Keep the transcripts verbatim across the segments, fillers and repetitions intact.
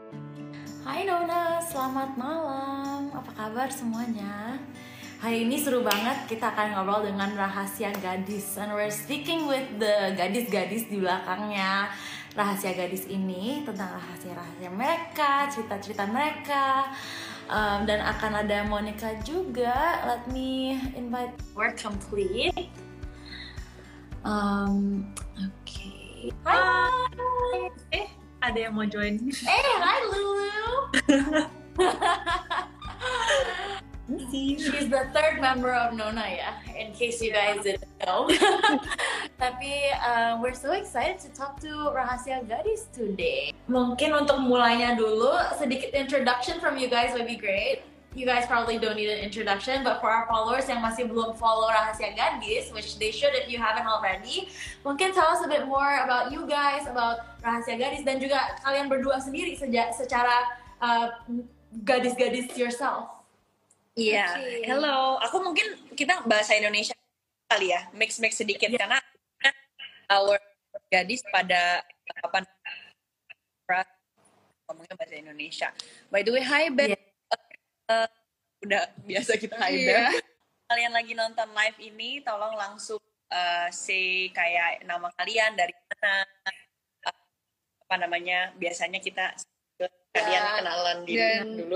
Hai Nona, selamat malam. Apa kabar semuanya? Hari ini seru banget, kita akan ngobrol dengan rahasia gadis. And we're speaking with the gadis-gadis di belakangnya rahasia gadis ini, tentang rahasia-rahasia mereka, cerita-cerita mereka. Um, dan akan ada Monica juga. Let me invite. We're complete. Um, Oke. Okay. Hai. Eh, ada yang mau join. Eh, hai Lulu. She's the third member of Nona ya, in case you guys didn't know. Tapi uh, we're so excited to talk to Rahasia Gadis today. Mungkin untuk mulainya dulu, sedikit introduction from you guys would be great. You guys probably don't need an introduction, but for our followers yang masih belum follow Rahasia Gadis, which they should if you haven't already, mungkin tell us a bit more about you guys, about Rahasia Gadis, dan juga kalian berdua sendiri seja, secara uh, gadis-gadis yourself. Iya, yeah. Okay. Hello. Aku mungkin kita bahasa Indonesia kali ya, mix-mix sedikit yeah. Karena our gadis pada apa ngomongnya bahasa Indonesia. By the way, hi Beth. Yeah. Uh, udah biasa kita hi yeah. Beth. Kalian lagi nonton live ini, tolong langsung uh, say kayak nama kalian dari mana, uh, apa namanya. Biasanya kita kalian yeah. kenalan diri Dan... dulu.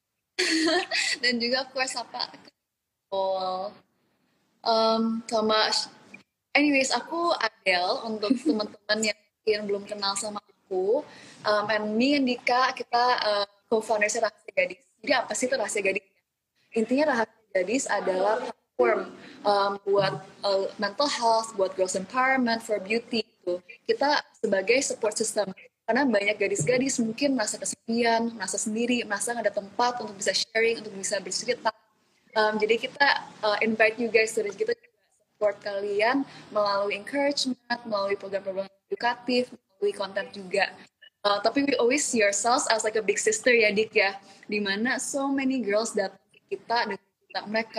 Dan juga of course apa oh, um, sama anyways aku Adele untuk teman-teman yang, yang belum kenal sama aku, um, and me and Dika kita uh, co-founders Rahasia Gadis. Jadi apa sih itu Rahasia Gadis? Intinya Rahasia Gadis adalah platform um, buat uh, mental health, buat girls empowerment, for beauty gitu. Kita sebagai support system. Karena banyak gadis-gadis mungkin merasa kesepian, merasa sendiri, merasa nggak ada tempat untuk bisa sharing, untuk bisa bercerita. Um, jadi kita uh, invite you guys, jadi kita support kalian melalui encouragement, melalui program-program edukatif, melalui konten juga. Uh, tapi we always see ourselves as like a big sister ya Dik ya, dimana so many girls datang ke kita dan cerita mereka.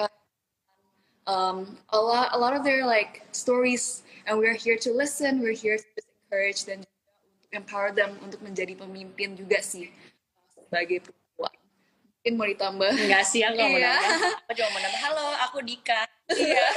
Um, a lot, a lot of their like stories, and we're here to listen, we're here to encourage dan empower them untuk menjadi pemimpin juga sih sebagai perempuan. Mungkin mau ditambah? Enggak sih, aku nggak mau nambah. Aku cuma mau nambah. Halo, aku Dika. Iya.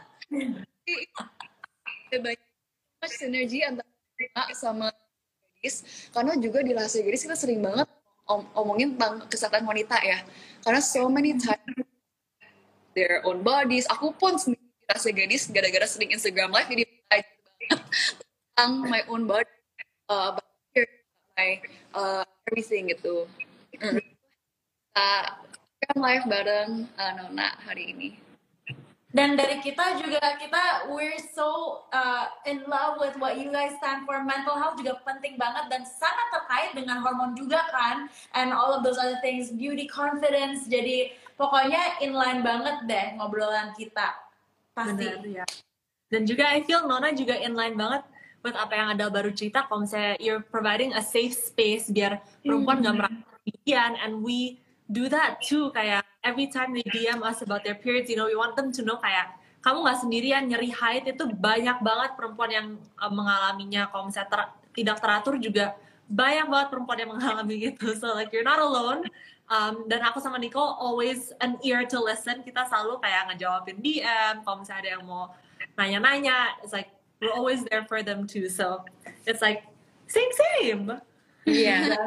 Ada banyak sinergi antara kita sama gadis, karena juga di Rahasia Gadis kita sering banget om omongin tentang kesehatan wanita ya. Karena so many times their own bodies. Aku pun sendiri di Rahasia Gadis gara-gara sering Instagram live jadi belajar banget tentang my own body. Uh, my uh, everything gitu. Mm. Uh, kan live bareng uh, Nona hari ini. Dan dari kita juga, kita we're so uh, in love with what you guys stand for. Mental health juga penting banget dan sangat terkait dengan hormon juga kan, and all of those other things, beauty, confidence. Jadi pokoknya inline banget deh ngobrolan kita pasti. Benar, ya. Dan juga I feel Nona juga inline banget buat apa yang Adele baru cerita, kalau misalnya you're providing a safe space biar perempuan mm. gak merasa kesepian, and we do that too, kayak every time they D M us about their periods, you know, we want them to know kayak kamu gak sendirian, nyeri haid itu banyak banget perempuan yang uh, mengalaminya, kalau misalnya ter tidak teratur juga banyak banget perempuan yang mengalami gitu, so like you're not alone. Um, dan aku sama Nicole always an ear to listen, kita selalu kayak ngejawabin D M, kalau misalnya ada yang mau nanya-nanya, it's like we're always there for them too. So it's like same same. Yeah.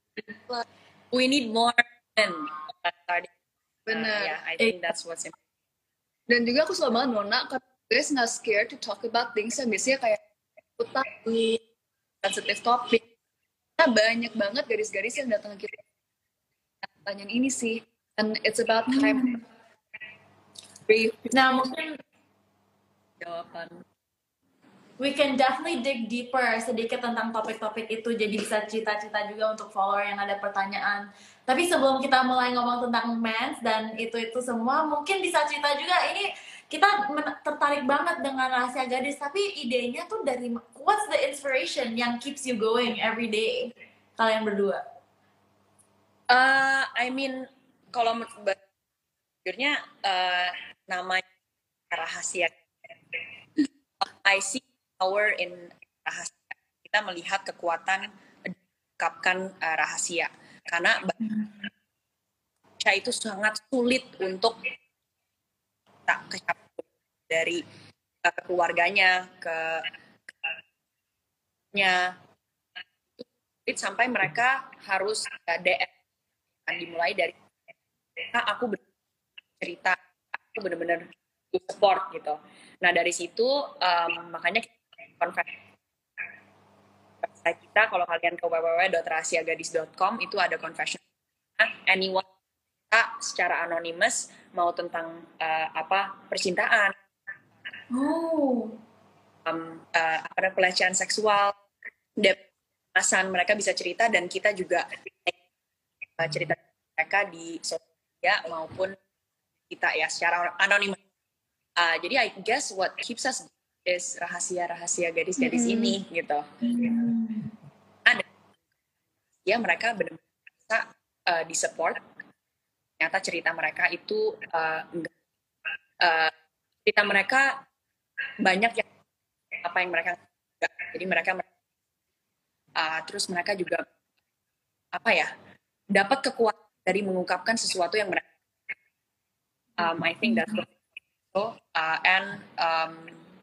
We need more men. Benar. Uh, yeah, I think that's what's important. Dan juga aku selalu banget Nona, karena guys not scared to talk about things yang biasanya kayak utang, sensitive topic. Nah, banyak banget gadis-gadis yang datang ke kita pertanyaan ini sih, and it's about time. Hmm. Nah mungkin jawaban. We can definitely dig deeper sedikit tentang topik-topik itu, jadi bisa cerita-cerita juga untuk follower yang ada pertanyaan. Tapi sebelum kita mulai ngomong tentang mens dan itu-itu semua, mungkin bisa cerita juga, ini kita tertarik banget dengan Rahasia Gadis, tapi idenya tuh dari, what's the inspiration yang keeps you going every day, kalian berdua? Uh, I mean, kalau jujurnya uh, namanya Rahasia, I see power in rahasia. Kita melihat kekuatan mengungkapkan uh, rahasia. karena baca itu sangat sulit untuk tak kecapai dari uh, keluarganya ke nya sampai mereka harus uh, D M dimulai dari nah, aku cerita aku benar-benar support gitu. Nah dari situ um, makanya konferensi kita kalau kalian ke w w w dot rahasiagadis dot com itu ada confession anyone kita secara anonymous mau tentang uh, apa percintaan, oh, um, uh, apa pelecehan seksual, depresan mereka bisa cerita dan kita juga uh, cerita mereka di sosial media maupun kita ya secara anonim. Uh, jadi I guess what keeps us is rahasia-rahasia gadis-gadis mm-hmm. ini gitu. Mm-hmm. Ada ya mereka benar-benar bisa uh, disupport. Ternyata cerita mereka itu uh, enggak, uh, cerita mereka banyak yang apa yang mereka enggak. Jadi mereka uh, terus mereka juga apa ya dapat kekuatan dari mengungkapkan sesuatu yang mereka um, I think that's what so uh, and um,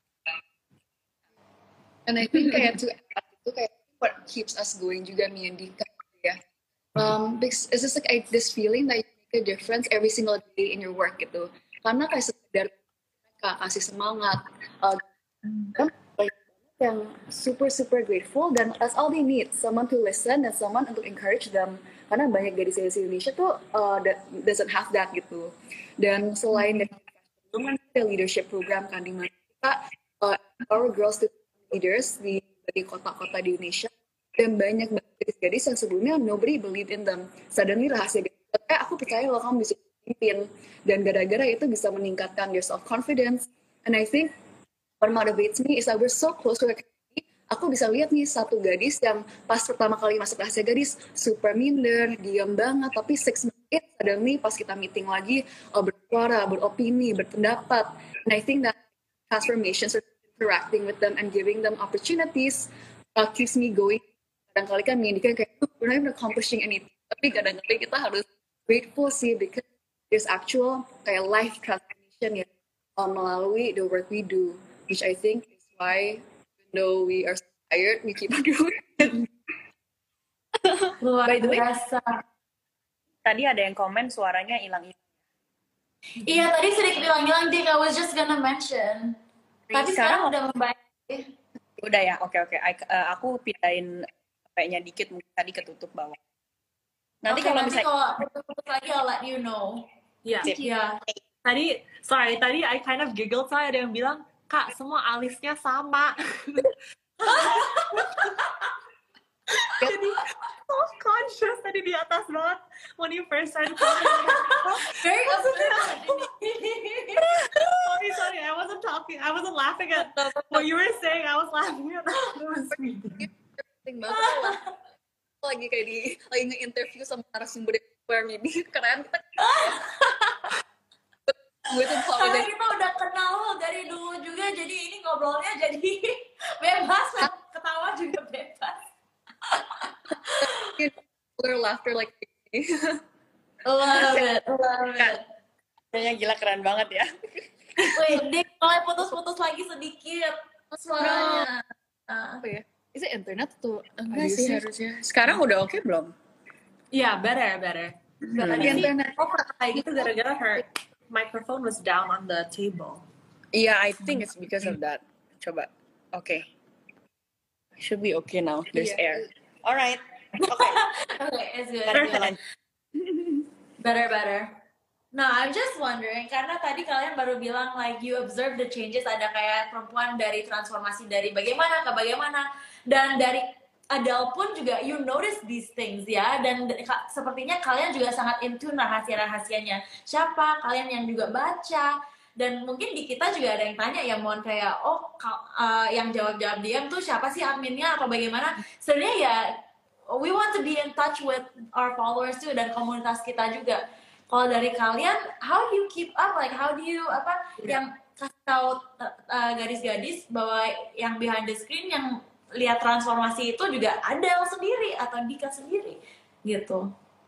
and I think kayak to itu kayak what keeps us going juga nih Andika ya um, because it's just like I, this feeling that you make a difference every single day in your work gitu karena kayak sekedar mereka kasih semangat uh, kan yang super super grateful dan that's all they need someone to listen and someone untuk encourage them karena banyak gadis-gadis Indonesia tuh uh, that doesn't have that gitu dan selain dari ada leadership program kan di mana kita uh, our girls to leaders di, di kota-kota di Indonesia dan banyak gadis-gadis yang sebelumnya nobody believed in them suddenly rahasia gadis eh aku percaya loh kamu bisa pimpin dan gara-gara itu bisa meningkatkan your self confidence and I think what motivates me is that we're so close to the community. Aku bisa lihat nih satu gadis yang pas pertama kali masuk rahasia gadis super minder, diam banget, tapi six minutes suddenly pas kita meeting lagi oh, bersuara, beropini, berpendapat. And I think that transformation, sort of interacting with them and giving them opportunities uh, keeps me going. Kadang-kali kan mengindikan kayak we're not even accomplishing anything, tapi kadang-kali kita harus grateful sih because there's actual kayak life transformation ya uh, melalui the work we do. Which I think is why, even though we are tired, we keep on doing it. Luar biasa. Tadi ada yang komen suaranya hilang-hilang. Iya, tadi sedikit hilang-hilang, Dik. I was just gonna mention. Tapi sekarang, sekarang udah membaik. Udah ya, oke oke. Uh, aku pindahin kayaknya dikit, mungkin tadi ketutup bawah. Nanti okay, kalau nanti misalnya... kalau ketutup lagi, I'll let you know. Iya. Yeah. Yeah. Tadi, sorry, tadi I kind of giggled soalnya ada yang bilang, Kak, semua alisnya sama. Jadi, so conscious tadi di atas banget. When you first started talking. Very upset. Sorry, sorry, I wasn't talking. I wasn't laughing at what you were saying. I was laughing at lagi kayak di, lagi nge-interview sama narasumber yang ini. Keren kita. Karena kita udah kenal dari dulu juga, jadi ini ngobrolnya jadi bebas, ketawa juga bebas. Laughter like love it, love it. Kayaknya gila keren banget ya. Wait, Dik, mulai putus-putus lagi sedikit suaranya. Apa ya? Is it internet tuh? Enggak sih harusnya. Sekarang udah oke okay, belum? Iya, yeah, better, better. Hmm. Tadi internet oh kayak gitu gara-gara her microphone was down on the table. Yeah, I think it's because of that. Coba. Okay. Should be okay now. There's yeah. air. Alright. Okay. Okay, it's good. Better, better, better. Nah, I'm just wondering, karena tadi kalian baru bilang like you observe the changes, ada kayak perempuan dari transformasi dari bagaimana ke bagaimana, dan dari Adele pun juga you notice these things ya, dan sepertinya kalian juga sangat into rahasia-rahasianya siapa, kalian yang juga baca, dan mungkin di kita juga ada yang tanya ya Mon kayak oh uh, yang jawab-jawab diam tuh siapa sih adminnya atau bagaimana. Sebenarnya ya we want to be in touch with our followers too dan komunitas kita juga. Kalau dari kalian, how do you keep up, like how do you apa yeah. yang kasih tahu uh, gadis-gadis bahwa yang behind the screen yang lihat transformasi itu juga Adele sendiri atau Dika sendiri gitu.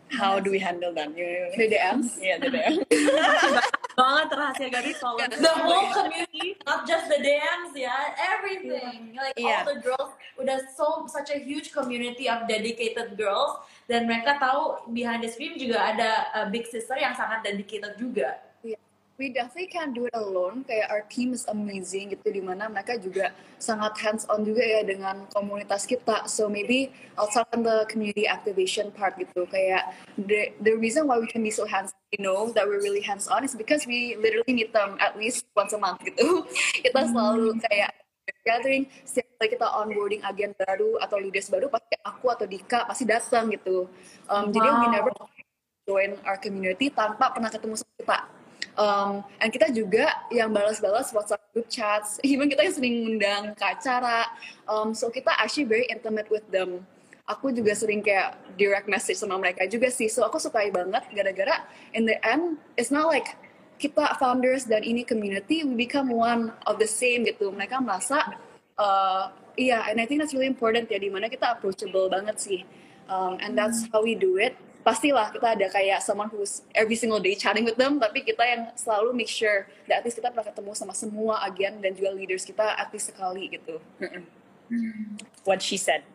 how do we handle them? The D Ms. Yeah, the D M. Banget rahasia gadis soal The whole community, not just the D Ms ya, everything. Like Yeah. all the girls, udah so such a huge community of dedicated girls, dan mereka tahu behind the screen juga ada uh, big sister yang sangat dedicated juga. Yeah. We definitely can't do it alone. Kayak our team is amazing gitu, dimana mereka juga sangat hands on juga ya dengan komunitas kita. So maybe I'll start on the community activation part gitu. Kayak the the reason why we can be so hands, you know, that we're really hands on is because we literally meet them at least once a month gitu. Kita selalu kayak gathering, setiap kali kita onboarding agen baru atau leaders baru, pasti aku atau Dika pasti datang gitu. Um, Jadi we never join our community tanpa pernah ketemu sama kita. Um, and kita juga yang balas-balas WhatsApp group chats, even kita yang sering ngundang ke acara. Um, so kita actually very intimate with them. Aku juga sering kayak direct message sama mereka juga sih. So aku sukai banget gara-gara in the end, it's not like kita founders dan ini community, we become one of the same gitu. Mereka merasa, uh, iya, yeah, and I think that's really important ya, dimana kita approachable banget sih. Um, and that's how we do it. Pastilah kita ada kayak someone who's every single day chatting with them, tapi kita yang selalu make sure that at least kita pernah ketemu sama semua agen dan juga leaders kita at least sekali gitu. What she said.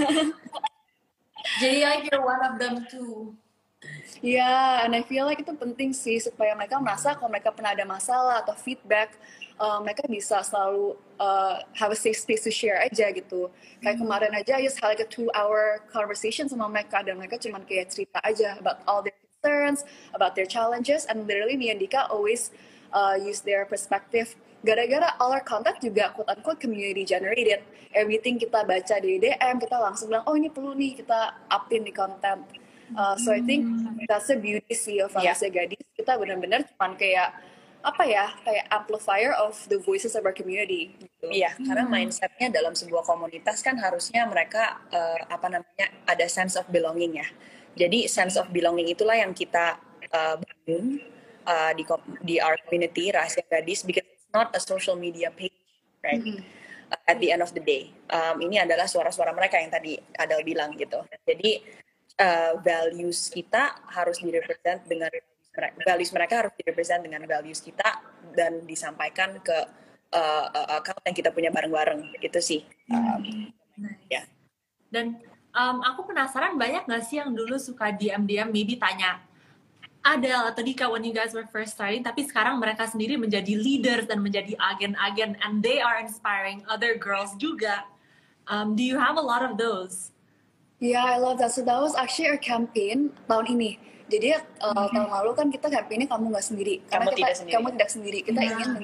Jadi like you're one of them too. Ya, yeah, and I feel like itu penting sih supaya mereka merasa kalau mereka pernah ada masalah atau feedback, uh, mereka bisa selalu uh, have a safe space to share aja gitu. Kayak kemarin aja, I just had like a two hour conversation sama mereka, dan mereka cuma kayak cerita aja about all their concerns, about their challenges, and literally me and Dika always uh, use their perspective. Gara-gara all our content juga quote-unquote community generated. Everything kita baca di D M, kita langsung bilang, oh ini perlu nih kita upin di content. Uh, so I think that's the beauty sih of Rahasia yeah. Gadis. Kita benar-benar cuman kayak apa ya, kayak amplifier of the voices of our community. Gitu. Iya, hmm. karena mindsetnya dalam sebuah komunitas kan harusnya mereka uh, apa namanya ada sense of belonging ya. Jadi sense of belonging itulah yang kita uh, bangun uh, di di our community Rahasia Gadis, because it's not a social media page, right? Hmm. Uh, at the end of the day, um, ini adalah suara-suara mereka yang tadi Adel bilang gitu. Jadi Uh, values kita harus direpresent dengan values mereka harus direpresent dengan values kita dan disampaikan ke uh, uh, account yang kita punya bareng-bareng gitu sih. Um, nice. Ya. Dan um, aku penasaran, banyak nggak sih yang dulu suka D M D M maybe tanya Adel atau Dika when you guys were first starting, tapi sekarang mereka sendiri menjadi leaders dan menjadi agen-agen and they are inspiring other girls juga. Um, do you have a lot of those? Yeah, I love that. So that was actually our campaign tahun ini. Jadi uh, mm-hmm. tahun lalu kan kita campaignnya kamu nggak sendiri. Karena kamu kita, tidak sendiri. Kamu tidak sendiri. Kita yeah. ingin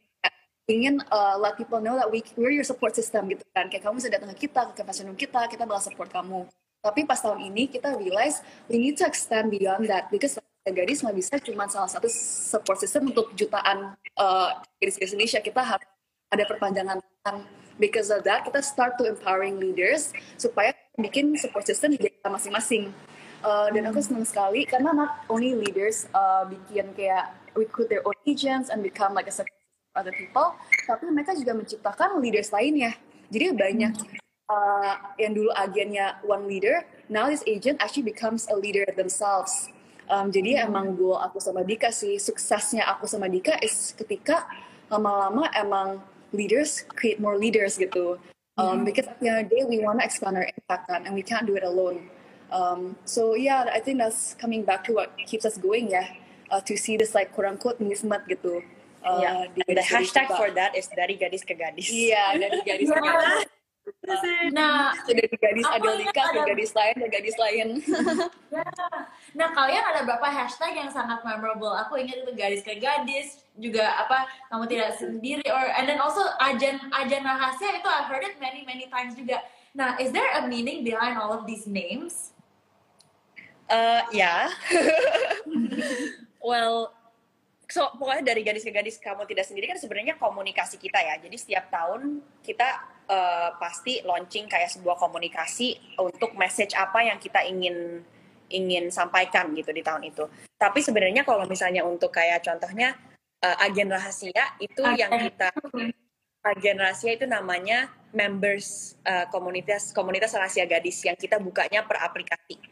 ingin uh, let people know that we we're your support system gitu kan. Kayak kamu bisa datang ke kita, ke campaign kita, kita bakal support kamu. Tapi pas tahun ini kita realize we need to extend beyond that, because Gadis nggak bisa cuma salah satu support system untuk jutaan uh, gadis-gadis Indonesia. Kita harus ada perpanjangan tangan. Because of that, kita start to empowering leaders supaya bikin support system di desa masing-masing. Uh, dan aku senang sekali karena not only leaders uh, bikin kayak recruit their own agents and become like a support system for other people, tapi mereka juga menciptakan leaders lainnya. Jadi banyak uh, yang dulu agennya one leader, now this agent actually becomes a leader themselves. Um, jadi emang goal aku sama Dika sih, suksesnya aku sama Dika is ketika lama-lama emang leaders create more leaders gitu. Um, mm-hmm. Because at the end of the day, we want to expand our impact on, and we can't do it alone. Um, so yeah, I think that's coming back to what keeps us going ya, uh, to see this like quote unquote movement gitu. Uh, yeah. The hashtag for that is dari gadis ke gadis. Iya, dari gadis ke gadis. Nah, dari gadis Adel Dika ke gadis lain dan gadis lain. Ya. Nah, kalian ada berapa hashtag yang sangat memorable? Aku ingat itu gadis ke gadis, juga apa kamu tidak sendiri, or and then also ajan ajan rahasia itu I've heard it many many times juga. Nah, is there a meaning behind all of these names? Uh, ya. Well, so pokoknya dari gadis ke gadis kamu tidak sendiri kan sebenarnya komunikasi kita ya. Jadi setiap tahun kita Uh, pasti launching kayak sebuah komunikasi untuk message apa yang kita ingin ingin sampaikan gitu di tahun itu. Tapi sebenarnya kalau misalnya untuk kayak contohnya uh, agen rahasia itu okay. yang kita agen rahasia itu namanya members uh, komunitas komunitas rahasia gadis yang kita bukanya per aplikasi.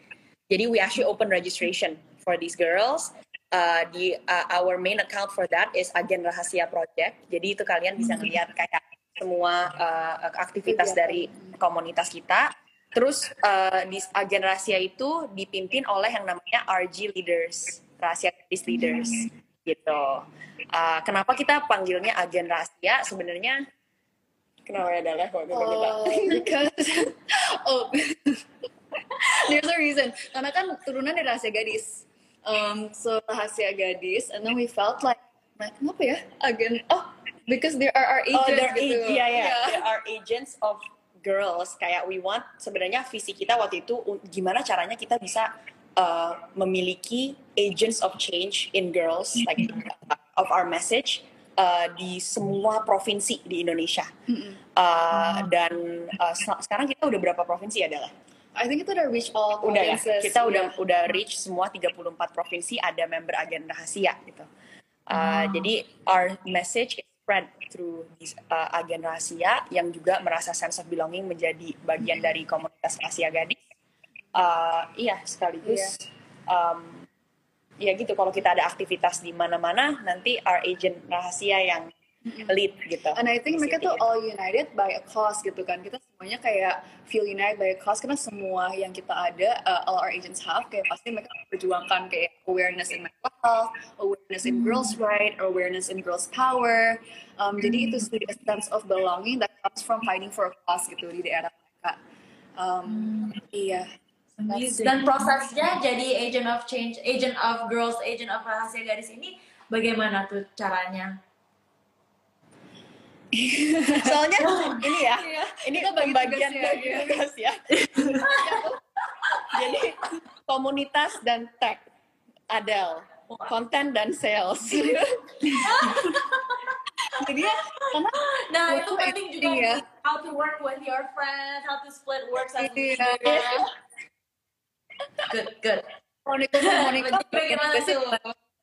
Jadi we actually open registration for these girls. Uh, di uh, our main account for that is Agen Rahasia Project. Jadi itu kalian bisa ngeliat kayak semua uh, aktivitas dari komunitas kita. Terus uh, di Agen Rahasia itu dipimpin oleh yang namanya R G Leaders, Rahasia Gadis Leaders, gitu. Uh, kenapa kita panggilnya Agen Rahasia? Sebenarnya kenapa ya Dala? Oh, because oh, there's a reason. Karena kan turunan dari Rahasia Gadis. Um, so Rahasia Gadis, and then we felt like, like kenapa ya? Agen, oh, because there are our agents oh, they're gitu. Ag- yeah, yeah, yeah. There are agents of girls. Kayak we want, sebenarnya visi kita waktu itu gimana caranya kita bisa uh, memiliki agents of change in girls, like uh, of our message uh, di semua provinsi di Indonesia. Mm-hmm. Uh, dan uh, sekarang kita udah berapa provinsi adalah? I think kita udah reach all udah ya, provinces. kita udah yeah. udah reach semua tiga puluh empat provinsi ada member Agen Rahasia gitu. Uh, Hmm. Jadi our message is spread through this, uh, Agen Rahasia yang juga merasa sense of belonging menjadi bagian dari komunitas Rahasia Gadis. Uh, iya sekaligus. Um, ya gitu, kalau kita ada aktivitas di mana-mana nanti our agent Rahasia yang lead gitu. And I think mereka tuh all united by a cause gitu kan. Kita semuanya kayak feel united by a cause karena semua yang kita ada, uh, all our agents have, kayak pasti mereka perjuangkan kayak awareness in mental health, awareness in girls' right, awareness in girls' power. Um, jadi itu sih a sense of belonging that comes from fighting for a cause gitu di daerah mereka. Um, iya. Amazing. Dan prosesnya jadi agent of change, agent of girls, agent of Rahasia Gadis ini bagaimana tuh caranya? Soalnya ini ya, ini Kita bagi pembagian tugas ya, bagi iya. tugas ya. Jadi komunitas dan tech, Adele, konten dan sales. Jadi karena Nah Waktu itu penting juga editing ya. how to work with your friends, how to split works as Iya. good, good. Monica Monica Bagaimana tuh?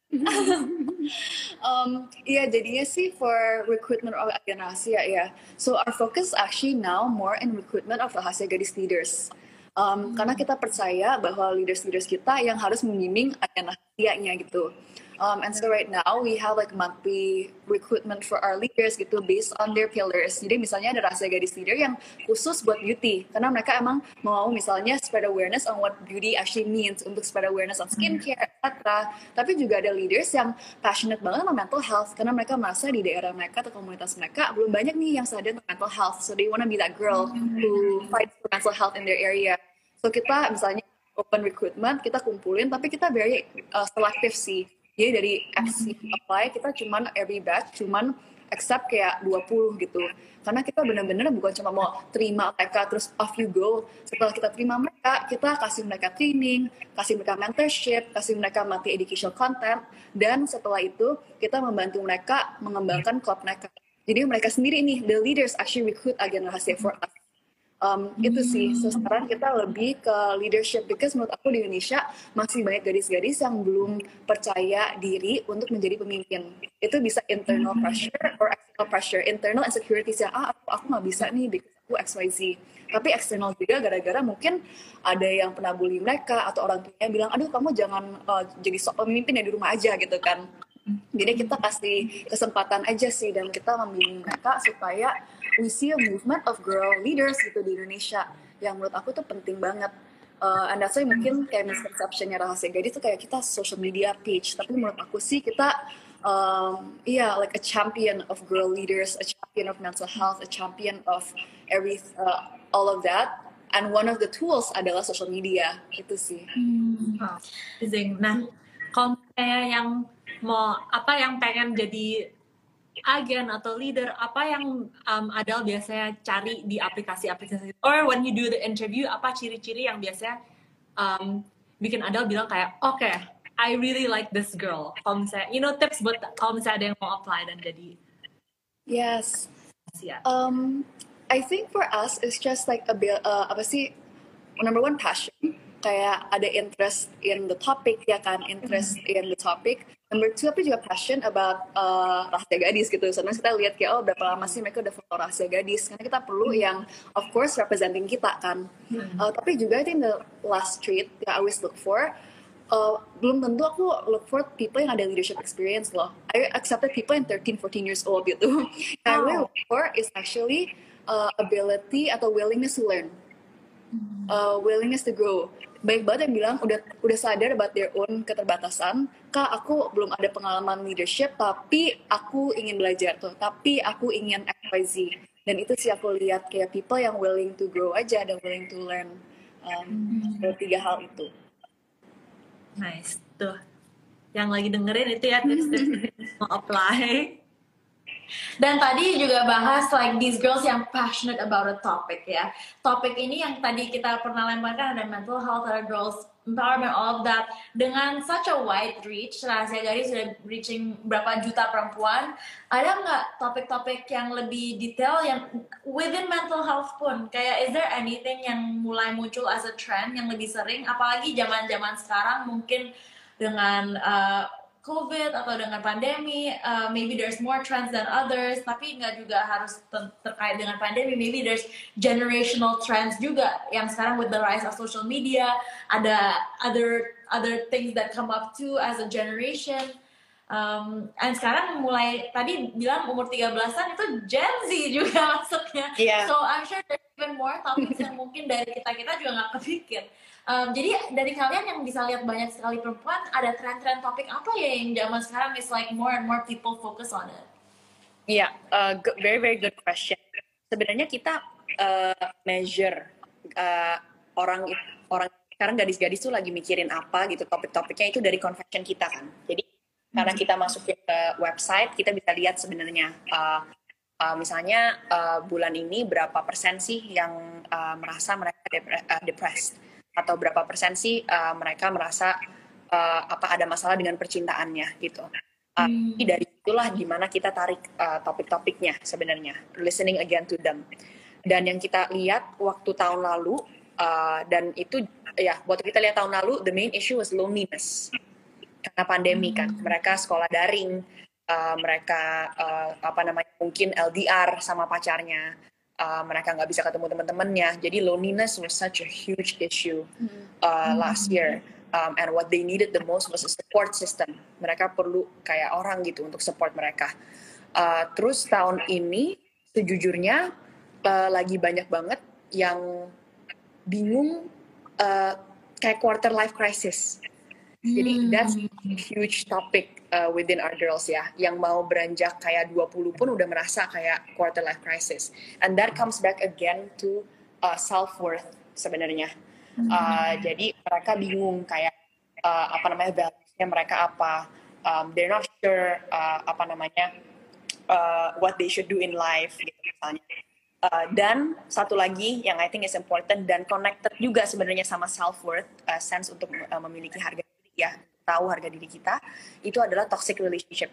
um, iya jadinya sih for recruitment of Agen Rahasia ya. So our focus actually now more in recruitment of Rahasia Gadis leaders. Um, Karena kita percaya bahwa leaders-leaders kita yang harus membimbing Agen Rahasianya gitu. Um, and so right now we have like monthly recruitment for our leaders gitu based on their pillars. Jadi misalnya ada Rahasia Gadis leader yang khusus buat beauty karena mereka emang mau misalnya spread awareness on what beauty actually means, untuk spread awareness on skincare, et cetera. Tapi juga ada leaders yang passionate banget sama mental health karena mereka merasa di daerah mereka atau komunitas mereka belum banyak nih yang sadar tentang mental health. So they wanna be that girl who fights for mental health in their area. So kita misalnya open recruitment, kita kumpulin, tapi kita very uh, selective sih. Jadi dari aksi apply, kita cuman every batch, cuman accept kayak dua puluh gitu. Karena kita benar-benar bukan cuma mau terima mereka, terus off you go. Setelah kita terima mereka, kita kasih mereka training, kasih mereka mentorship, kasih mereka monthly educational content, dan setelah itu kita membantu mereka mengembangkan klub mereka. Jadi mereka sendiri nih, the leaders actually recruit Agen Rahasia for us. Um, itu sih, so sekarang kita lebih ke leadership because menurut aku di Indonesia masih banyak gadis-gadis yang belum percaya diri untuk menjadi pemimpin. Itu bisa internal pressure or external pressure. Internal insecurities yang ah aku aku nggak bisa nih because aku X Y Z. Tapi eksternal juga gara-gara mungkin ada yang pernah bully mereka atau orang tuanya bilang aduh kamu jangan uh, jadi sok pemimpin ya di rumah aja gitu kan. Jadi kita kasih kesempatan aja sih dan kita membimbing mereka supaya we see a movement of girl leaders gitu di Indonesia yang menurut aku tuh penting banget. Uh, and that's why mungkin kayak misconception-nya Rahasia Gadis tuh kayak kita social media page, tapi menurut aku sih kita um, iya yeah, like a champion of girl leaders, a champion of mental health, a champion of every uh, all of that. And one of the tools adalah social media itu sih. Hmm. Amazing. Nah, kalau misalnya yang mau apa yang pengen jadi agen atau leader, apa yang um, Adele biasanya cari di aplikasi-aplikasi or when you do the interview, apa ciri-ciri yang biasanya um, bikin Adele bilang kayak oke, okay, I really like this girl. Kalau misalnya, you know, tips buat kalau misalnya ada yang mau apply dan jadi Yes. ya. Um, I think for us it's just like a bit, uh, apa sih, number one passion, kayak ada interest in the topic ya kan, interest in the topic. Number two, aku juga passion about uh, rahasia gadis gitu. Soalnya kita lihat kayak, oh berapa lama sih mereka udah follow rahasia gadis. Karena kita perlu yang, of course, representing kita kan. Hmm. Uh, tapi juga I think the last trait that I always look for, uh, belum tentu aku look for people yang ada leadership experience loh. I accepted people yang thirteen, fourteen years old gitu. Yang I really look for is actually uh, ability atau willingness to learn. Uh, willingness to grow. Baik banget yang bilang udah udah sadar about their own keterbatasan. Kak, aku belum ada pengalaman leadership, tapi aku ingin belajar tuh. Tapi aku ingin X Y Z. Dan itu sih aku lihat kayak people yang willing to grow aja dan willing to learn. Um, hmm. Tiga hal itu. Nice tuh. Yang lagi dengerin itu ya tips-tips mau apply. Dan tadi juga bahas like these girls yang passionate about a topic ya. Topik ini yang tadi kita pernah lemparkan ada mental health, ada girls empowerment, all of that. Dengan such a wide reach, Rahasia Gadis sudah reaching berapa juta perempuan. Ada nggak topik-topik yang lebih detail yang within mental health pun? Kayak is there anything yang mulai muncul as a trend yang lebih sering? Apalagi zaman-zaman sekarang mungkin dengan uh, COVID atau dengan pandemi, uh, maybe there's more trends than others, tapi nggak juga harus ter- terkait dengan pandemi. Maybe there's generational trends juga yang sekarang with the rise of social media, ada other other things that come up too as a generation. Um, and sekarang mulai tadi bilang umur tiga belasan itu Gen Z juga masuknya. Yeah. So I'm sure there's even more topics yang mungkin dari kita-kita juga nggak kepikir. Um, jadi dari kalian yang bisa lihat banyak sekali perempuan, ada tren-tren topik apa ya yang zaman sekarang is like more and more people focus on it? Iya, yeah, uh, very very good question. Sebenarnya kita uh, measure uh, orang orang sekarang gadis-gadis tuh lagi mikirin apa gitu, topik-topiknya itu dari confession kita kan. Jadi hmm. karena kita masukin ke website, kita bisa lihat sebenarnya uh, uh, misalnya uh, bulan ini berapa persen sih yang uh, merasa mereka depre- uh, depressed. Atau berapa persen sih uh, mereka merasa uh, apa ada masalah dengan percintaannya gitu. Uh, hmm. Dari itulah gimana kita tarik uh, topik-topiknya sebenarnya, listening again to them. Dan yang kita lihat waktu tahun lalu uh, dan itu ya waktu kita lihat tahun lalu the main issue was loneliness karena pandemi kan. Mereka sekolah daring, uh, mereka uh, apa namanya mungkin L D R sama pacarnya. Uh, mereka nggak bisa ketemu teman-temannya, jadi loneliness was such a huge issue uh, last year, um, and what they needed the most was a support system. Mereka perlu kayak orang gitu untuk support mereka. Uh, terus tahun ini, sejujurnya uh, lagi banyak banget yang bingung uh, kayak quarter life crisis. Jadi that's a huge topic uh, within our girls ya, yang mau beranjak kayak dua puluh pun udah merasa kayak quarter life crisis, and that comes back again to uh, self worth sebenarnya. Uh, jadi mereka bingung kayak uh, apa namanya values-nya mereka apa, um, they're not sure uh, apa namanya uh, what they should do in life gitu misalnya. Uh, dan satu lagi yang I think is important dan connected juga sebenarnya sama self worth, uh, sense untuk uh, memiliki harga ya, tahu harga diri kita, itu adalah toxic relationship.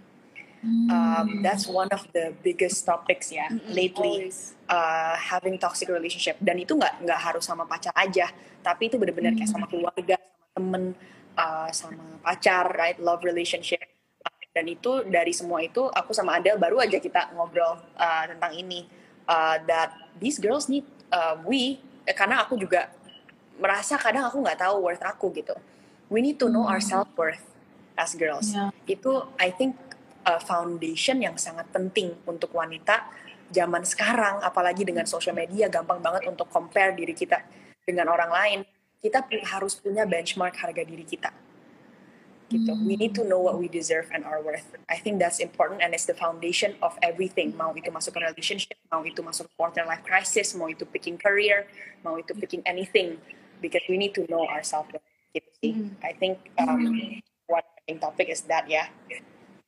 Um, that's one of the biggest topics ya lately, uh, having toxic relationship. Dan itu nggak nggak harus sama pacar aja, tapi itu benar-benar kayak sama keluarga, sama temen, uh, sama pacar, right? Love relationship. Dan itu dari semua itu aku sama Adele baru aja kita ngobrol uh, tentang ini, uh, that these girls need uh, we eh, karena aku juga merasa kadang aku nggak tahu worth aku gitu. We need to know our self-worth as girls. Yeah. Itu, I think, a foundation yang sangat penting untuk wanita zaman sekarang, apalagi dengan social media, gampang banget untuk compare diri kita dengan orang lain. Kita harus punya benchmark harga diri kita. Gitu. Mm. We need to know what we deserve and our worth. I think that's important and it's the foundation of everything. Mau itu masuk ke relationship, mau itu masuk ke quarter life crisis, mau itu picking career, mau itu picking anything. Because we need to know our self-worth. Gitu sih. Mm. I think um, mm. one topic is that ya. Yeah.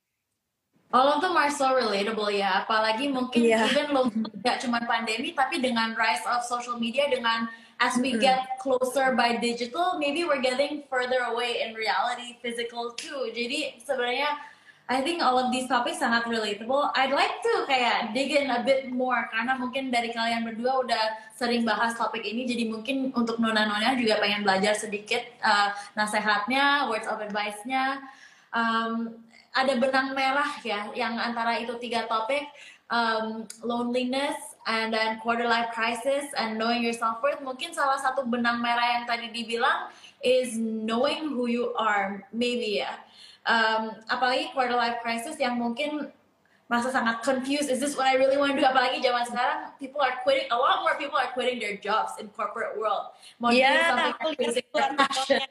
All of them are so relatable ya. Apalagi mungkin yeah. even lo nggak cuma pandemi, tapi dengan rise of social media, dengan as we mm. get closer by digital, maybe we're getting further away in reality, physical too. Jadi sebenarnya I think all of these topics sangat relatable. I'd like to kayak dig in a bit more karena mungkin dari kalian berdua udah sering bahas topik ini, jadi mungkin untuk nona-nona juga pengen belajar sedikit uh, nasihatnya, words of advice-nya. um, ada benang merah ya yang antara itu tiga topik, um, loneliness and then quarter life crisis and knowing your self-worth. Mungkin salah satu benang merah yang tadi dibilang is knowing who you are, maybe ya. Um, apalagi quarter life crisis yang mungkin masa sangat confused, is this what I really want to do? Apalagi zaman sekarang, people are quitting, a lot more people are quitting their jobs in corporate world. Mau Yeah, do something basic passion.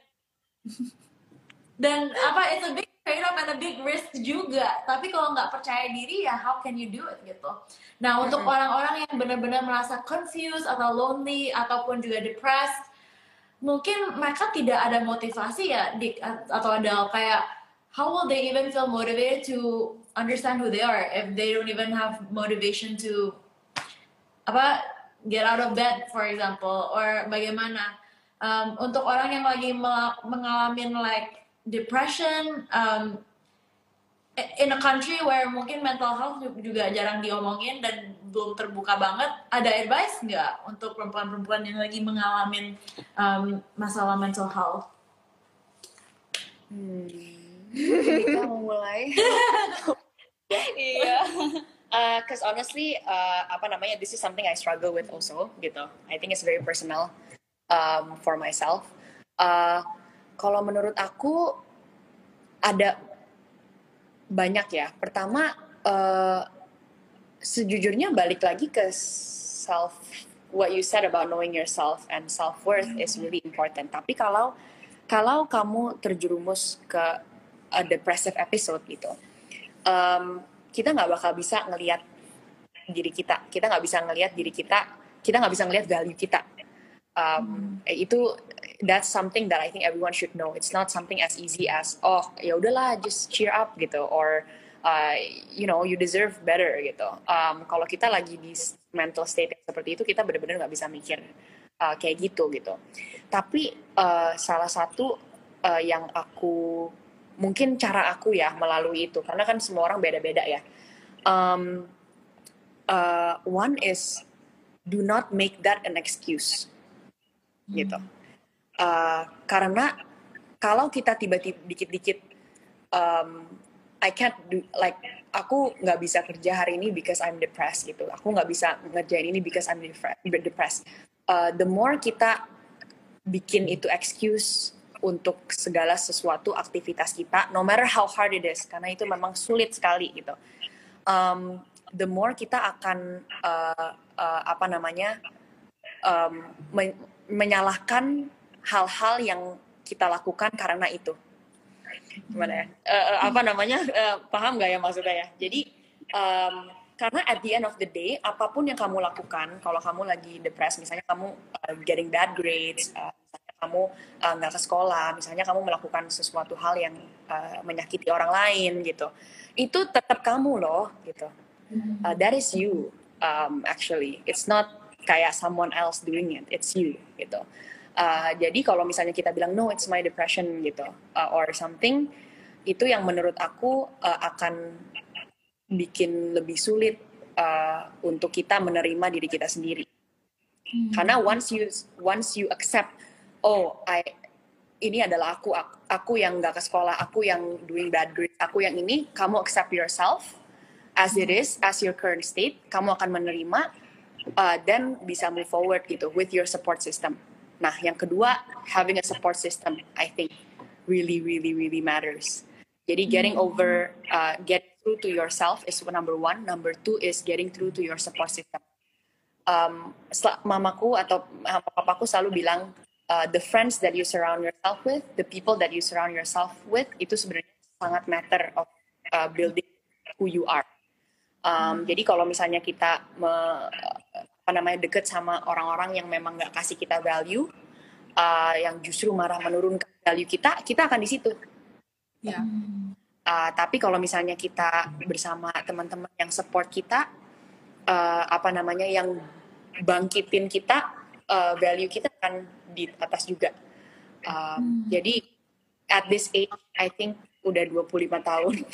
Dan apa, it's a big trade-off and a big risk juga. Tapi kalau nggak percaya diri ya, how can you do it gitu. Nah, untuk mm-hmm. orang-orang yang benar-benar merasa confused atau lonely ataupun juga depressed, mungkin mereka tidak ada motivasi ya, Dik atau ada kayak, how will they even feel motivated to understand who they are if they don't even have motivation to apa get out of bed, for example, or bagaimana. Um, untuk orang yang lagi mengalami like depression um, in a country where mungkin mental health juga jarang diomongin dan belum terbuka banget, ada advice nggak untuk perempuan-perempuan yang lagi mengalami um, masalah mental health? Hmm. Kita mau mulai. Iya. Because uh, honestly, uh, apa namanya, this is something I struggle with also, gitu. I think it's very personal um, for myself. Uh, Kalau menurut aku ada banyak ya. Pertama, uh, sejujurnya balik lagi ke self. What you said about knowing yourself and self-worth mm-hmm. is really important. Tapi kalau kalau kamu terjerumus ke a depressive episode gitu, um, kita nggak bakal bisa ngelihat diri kita. Kita nggak bisa ngelihat diri kita. Kita nggak bisa ngelihat value kita. Um, hmm. Itu that's something that I think everyone should know. It's not something as easy as oh ya udahlah just cheer up gitu, or uh, you know you deserve better gitu. Um, kalau kita lagi di mental state seperti itu, kita benar-benar nggak bisa mikir uh, kayak gitu gitu. Tapi uh, salah satu uh, yang aku mungkin cara aku ya melalui itu, karena kan semua orang beda-beda ya. Um, uh, one is do not make that an excuse. Gitu, uh, karena kalau kita tiba-tiba dikit-dikit um, I can't do, like aku nggak bisa kerja hari ini because I'm depressed gitu, aku nggak bisa ngerjain ini because I'm depressed. Uh, the more kita bikin itu excuse untuk segala sesuatu aktivitas kita, no matter how hard it is, karena itu memang sulit sekali gitu. Um, the more kita akan uh, uh, apa namanya um, men- menyalahkan hal-hal yang kita lakukan karena itu. Gimana ya? Uh, apa namanya? Uh, paham nggak ya maksudnya ya? Jadi um, karena at the end of the day, apapun yang kamu lakukan, kalau kamu lagi depressed, misalnya kamu uh, getting bad grades, uh, misalnya kamu nggak uh, ke sekolah, misalnya kamu melakukan sesuatu hal yang uh, menyakiti orang lain gitu, itu tetap kamu loh gitu. Uh, that is you um, actually. It's not kayak someone else doing it, it's you gitu. Uh, jadi kalau misalnya kita bilang no, it's my depression gitu, uh, or something, itu yang menurut aku uh, akan bikin lebih sulit uh, untuk kita menerima diri kita sendiri. Hmm. Karena once you once you accept, oh, I ini adalah aku, aku, aku yang nggak ke sekolah, aku yang doing bad grades, aku yang ini, kamu accept yourself as it is, as your current state, kamu akan menerima. Uh, then bisa move forward gitu with your support system. Nah, yang kedua, having a support system, I think really, really, really matters. Jadi getting over, uh, get through to yourself is number one. Number two is getting through to your support system. Um, mamaku atau papaku selalu bilang, uh, the friends that you surround yourself with, the people that you surround yourself with, itu sebenarnya sangat matter of uh, building who you are. Um, hmm. Jadi kalau misalnya kita me, apa namanya deket sama orang-orang yang memang nggak kasih kita value, uh, yang justru marah menurunkan value kita, kita akan di situ. Ya. Uh, tapi kalau misalnya kita bersama teman-teman yang support kita, uh, apa namanya yang bangkitin kita, uh, value kita akan di atas juga. Uh, hmm. Jadi at this age, I think udah dua puluh lima tahun,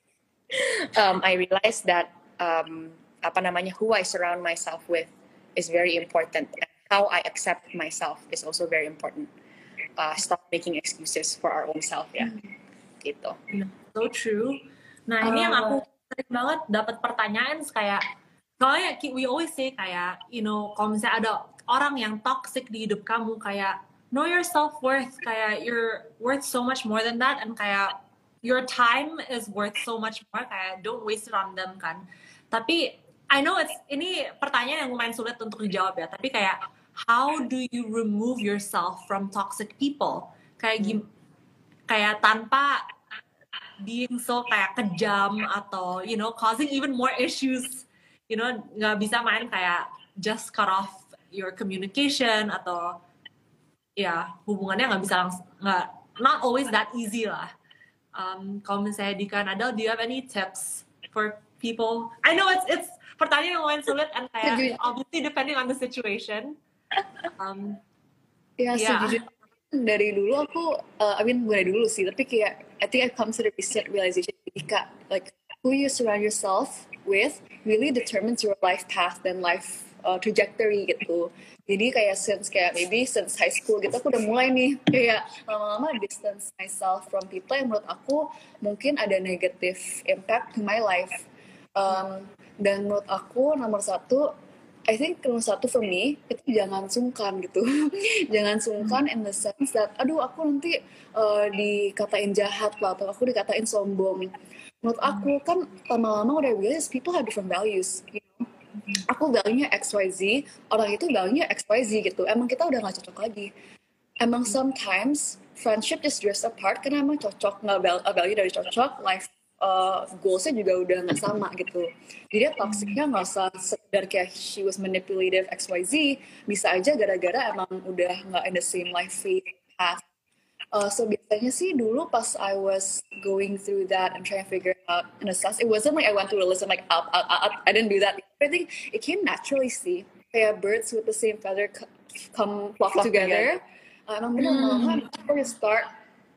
um, I realize that Um, apa namanya who I surround myself with is very important, and how I accept myself is also very important. Uh, stop making excuses for our own self ya, mm. gitu. so true. Nah ini yang aku sering banget dapat pertanyaan kayak, soalnya we always say kayak, you know, kalau misalnya ada orang yang toxic di hidup kamu, kayak know your self-worth, kayak you're worth so much more than that, and kayak your time is worth so much more, kayak don't waste it on them kan. Tapi I know it's, ini pertanyaan yang lumayan sulit untuk dijawab ya, tapi kayak how do you remove yourself from toxic people? Kayak gim, kayak tanpa being so kayak kejam atau you know causing even more issues, you know, nggak bisa main kayak just cut off your communication atau ya hubungannya nggak bisa langsung, nggak, not always that easy lah. Um, kalau misalnya di Kanada, do you have any tips for people? I know it's it's pertanyaan yang lumayan sulit and kayak obviously depending on the situation. Um, ya yeah. Sejujurnya dari dulu aku, uh, I mean bukan dari dulu sih, tapi kayak I think I've come to the recent realization, Ika, like who you surround yourself with really determines your life path dan life uh, trajectory gitu. Jadi kayak since kayak maybe since high school gitu aku udah mulai nih kayak lama-lama distance myself from people yang menurut aku mungkin ada negative impact to my life. Um, dan menurut aku nomor satu, I think nomor satu for me itu jangan sungkan gitu. Jangan sungkan in the sense that aduh aku nanti uh, dikatain jahat lah atau aku dikatain sombong. Menurut aku kan lama-lama udah realize people have different values, you know? Aku value-nya X Y Z, orang itu value-nya X Y Z gitu. Emang kita udah gak cocok lagi. Emang sometimes friendship just drifts apart karena emang cocok, gak value dari cocok, life uh, goals-nya juga udah gak sama gitu. Jadi toxic-nya gak usah sekedar kayak she was manipulative X Y Z, bisa aja gara-gara emang udah gak in the same life path. Uh, so biasanya sih dulu pas I was going through that and trying to figure out and assess, it wasn't like I went through a list and like up, up, up, I didn't do that. I think it came naturally sih. Kayak birds with the same feather come flock, flock together. Uh, emang bener lama-lama aku start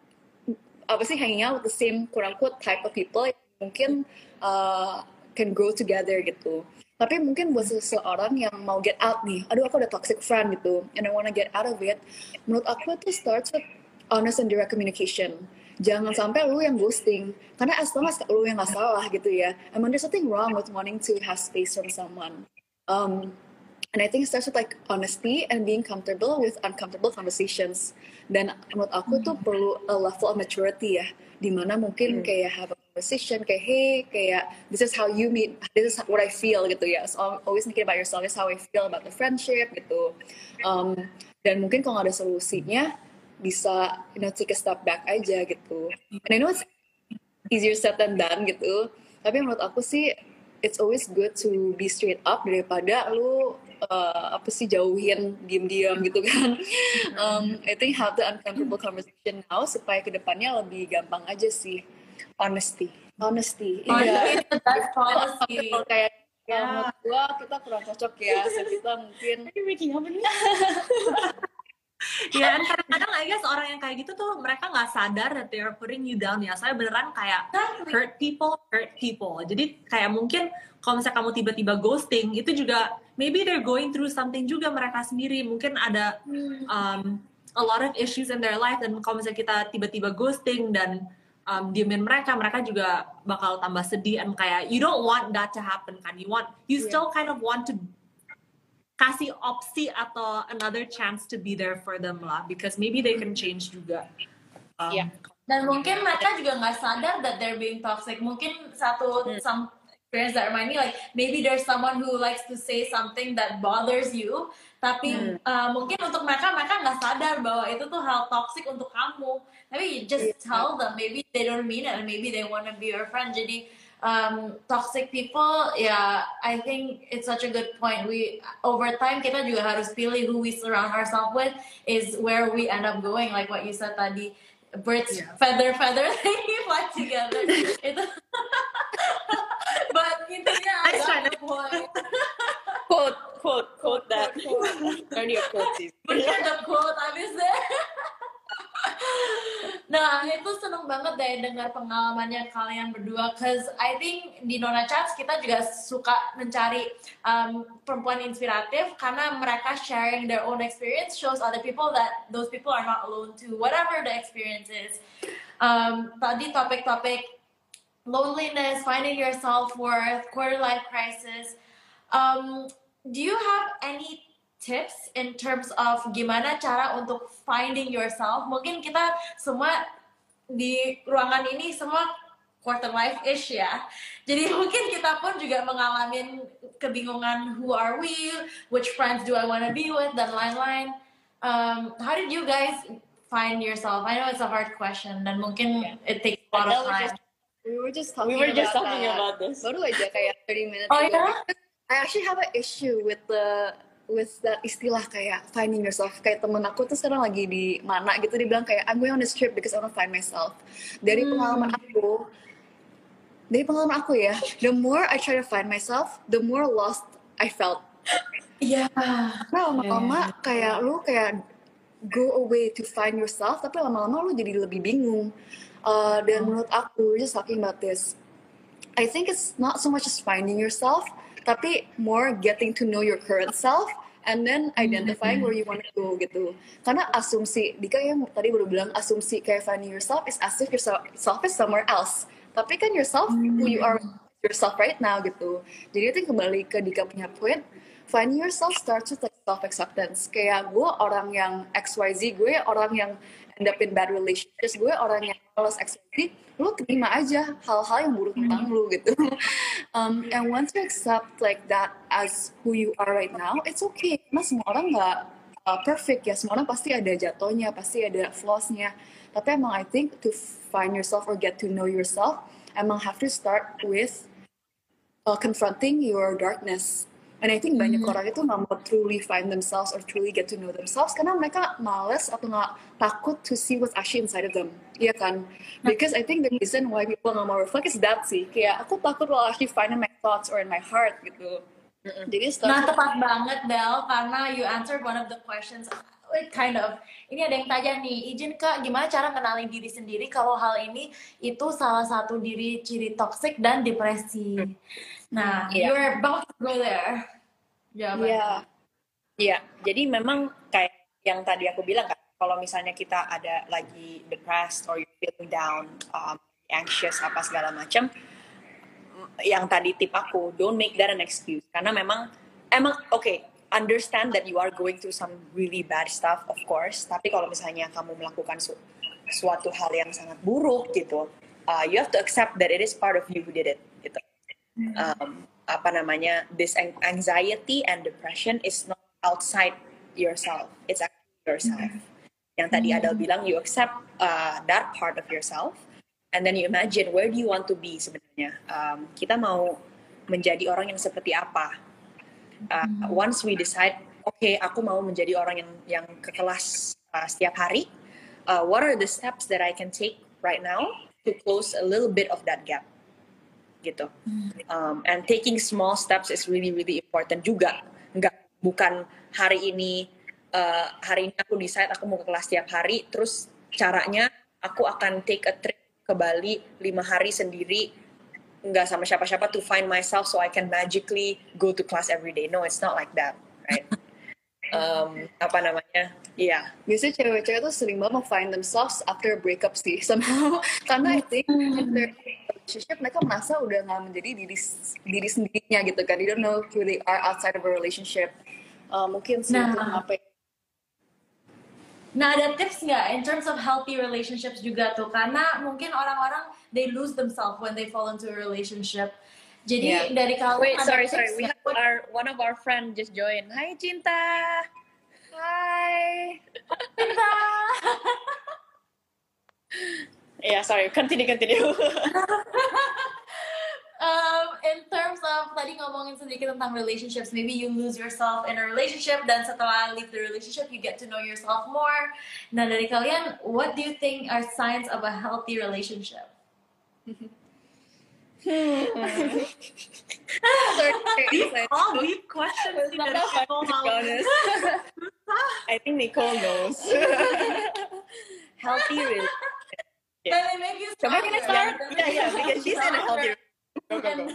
apa sih hanging out with the same quote-unquote type of people yang mungkin uh, can grow together gitu. Tapi mungkin buat seseorang yang mau get out nih, aduh aku ada toxic friend gitu, and I wanna get out of it. Menurut aku itu starts with honest and direct communication. Jangan sampai lu yang ghosting. Karena as long as lu yang gak salah gitu ya. I mean there's nothing wrong with wanting to have space from someone. Um, and I think it starts with like honesty and being comfortable with uncomfortable conversations. Dan menurut aku tuh perlu a level of maturity ya. Dimana mungkin hmm. kayak have a conversation, kayak hey, kayak this is how you meet, this is what I feel gitu ya. So always thinking about yourself, this is how I feel about the friendship gitu. Um, dan mungkin kalau gak ada solusinya, bisa, you know, take a step back aja gitu. And I know it's easier said than done gitu. Tapi menurut aku sih, it's always good to be straight up daripada lu uh, apa sih jauhin diam-diam gitu kan. um, I think have the uncomfortable conversation now supaya kedepannya lebih gampang aja sih. Honesty, honesty. Oh, Iya. itu that's policy. Kayak Yeah. menurut gua kita kurang cocok ya. So kita mungkin. Are you making up nih? Ya, dan kadang-kadang I guess orang yang kayak gitu tuh mereka nggak sadar that they are putting you down ya. Saya beneran kayak hurt people, hurt people. Jadi kayak mungkin kalau misalnya kamu tiba-tiba ghosting, itu juga maybe they're going through something juga mereka sendiri. Mungkin ada um, a lot of issues in their life, dan kalau misalnya kita tiba-tiba ghosting dan um, diemin mereka, mereka juga bakal tambah sedih. And kayak you don't want that to happen kan. You want, you still kind of want to kasih opsi atau another chance to be there for them lah, because maybe they can change juga. Um, yeah. Dan mungkin mereka juga nggak sadar that they're being toxic. Mungkin satu hmm. some experience that remind me like maybe there's someone who likes to say something that bothers you, tapi hmm. uh, mungkin untuk mereka mereka nggak sadar bahwa itu tuh hal toxic untuk kamu. Tapi you just yeah. tell them, maybe they don't mean it and maybe they wanna be your friend. Jadi Um, toxic people, yeah, I think it's such a good point. We over time kita juga harus pilih who we surround ourselves with is where we end up going. Like what you said tadi, birds yeah. feather feather they fly together. Itu, but intinya ada point. Quote quote quote that. Only a quote sih. Bener the quote abis deh. Nah, itu seneng banget deh dengar pengalamannya kalian berdua, cause I think di Nona Chats kita juga suka mencari um, perempuan inspiratif karena mereka sharing their own experience shows other people that those people are not alone too, whatever the experience is. Um, tadi topik-topik loneliness, finding your self-worth, quarter life crisis. Um, do you have any tips in terms of gimana cara untuk finding yourself? Mungkin kita semua di ruangan ini semua quarter life-ish ya. Jadi mungkin kita pun juga mengalami kebingungan, who are we, which friends do I want to be with, dan lain-lain. Um, how did you guys find yourself? I know it's a hard question dan mungkin it takes a lot of time. Just, we were just talking, we were just about, talking that. about this. Baru aja kayak thirty minutes Oh, ago. yeah? I actually have an issue with the with that istilah kayak finding yourself. Kayak temen aku tuh sekarang lagi di mana gitu, dia bilang kayak I'm going on this trip because I want to find myself. Dari Hmm. pengalaman aku, dari pengalaman aku ya, the more I try to find myself, the more lost I felt. Iya. Karena lama-lama kayak lu kayak go away to find yourself, tapi lama-lama lu jadi lebih bingung. Uh, dan menurut aku, we're just talking about this. I think it's not so much as finding yourself, tapi more getting to know your current self and then identifying where you want to go gitu. Karena asumsi, Dika yang tadi baru bilang asumsi kayak finding yourself is as if yourself is somewhere else. Tapi kan yourself, who you are yourself right now gitu. Jadi itu kembali ke Dika punya point, finding yourself starts with like self-acceptance. Kayak gue orang yang X Y Z, gue orang yang end up in bad relationships, gue orang yang males X Y Z, lu terima aja hal-hal yang buruk tentang lu gitu. Um, and once you accept like that as who you are right now, it's okay. Karena semua orang nggak uh, perfect ya, semua orang pasti ada jatuhnya, pasti ada flaws-nya. Tapi emang I think to find yourself or get to know yourself, emang have to start with uh, confronting your darkness. And I think banyak orang itu nggak mau truly find themselves or truly get to know themselves karena mereka males atau nggak takut to see what's actually inside of them, iya kan? Because I think the reason why people nggak mau reflect is that sih, kayak aku takut will actually find in my thoughts or in my heart gitu. Mm-mm. Jadi Nah, tepat banget Bel, karena you answered one of the questions. Wait, kind of. Ini ada yang tanya nih, izin Kak, gimana cara kenalin diri sendiri kalau hal ini itu salah satu diri ciri toxic dan depresi. Nah, Yeah. you're about to go there. Jawabannya. Iya. Iya, jadi memang kayak yang tadi aku bilang kan, kalau misalnya kita ada lagi depressed or you feeling down, um, anxious apa segala macam, yang tadi tip aku, don't make that an excuse. Karena memang emang oke, okay, understand that you are going through some really bad stuff, of course. Tapi kalau misalnya kamu melakukan su suatu hal yang sangat buruk gitu, uh, you have to accept that it is part of you who did it. Gitu. Um, apa namanya, this anxiety and depression is not outside yourself, it's actually yourself. Yang tadi Adele bilang, you accept uh, that part of yourself, and then you imagine where do you want to be sebenarnya. Um, kita mau menjadi orang yang seperti apa. Uh, once we decide, oke, okay, aku mau menjadi orang yang yang ke kelas uh, setiap hari. Uh, what are the steps that I can take right now to close a little bit of that gap? Gitu. Um, and taking small steps is really really important juga. Nggak, bukan hari ini uh, hari ini aku decide aku mau ke kelas tiap hari, terus caranya aku akan take a trip ke Bali lima hari sendiri, nggak sama siapa-siapa to find myself so I can magically go to class every day. No, it's not like that, right? um, apa namanya? Iya. Yeah. Biasanya cewek-cewek tuh sering banget mau find themselves after a breakup sih somehow. Karena I think in their relationship mereka merasa udah nggak menjadi diri diri sendirinya gitu kan. They don't know who they are outside of a relationship. Uh, mungkin sih Nah. itu apa ya? Nah, ada tips nggak in terms of healthy relationships juga tuh? Karena mungkin orang-orang they lose themselves when they fall into a relationship. Jadi Yeah. dari kalian Wait, ada sorry, tips sorry. We nggak? have our one of our friend just join. Hai Cinta. Hi. Yeah, sorry. Continue, continue. um, in terms of tadi ngomongin sedikit tentang relationships, maybe you lose yourself in a relationship dan setelah leave the relationship you get to know yourself more. Nah, dari kalian, what do you think are signs of a healthy relationship? All deep questions sih dari Nicole Holland. I think Nicole knows. Healthy relationship. Can it make you Coba can I start? stronger? Yeah, yeah, because she's in a healthy relationship. Go, go, go.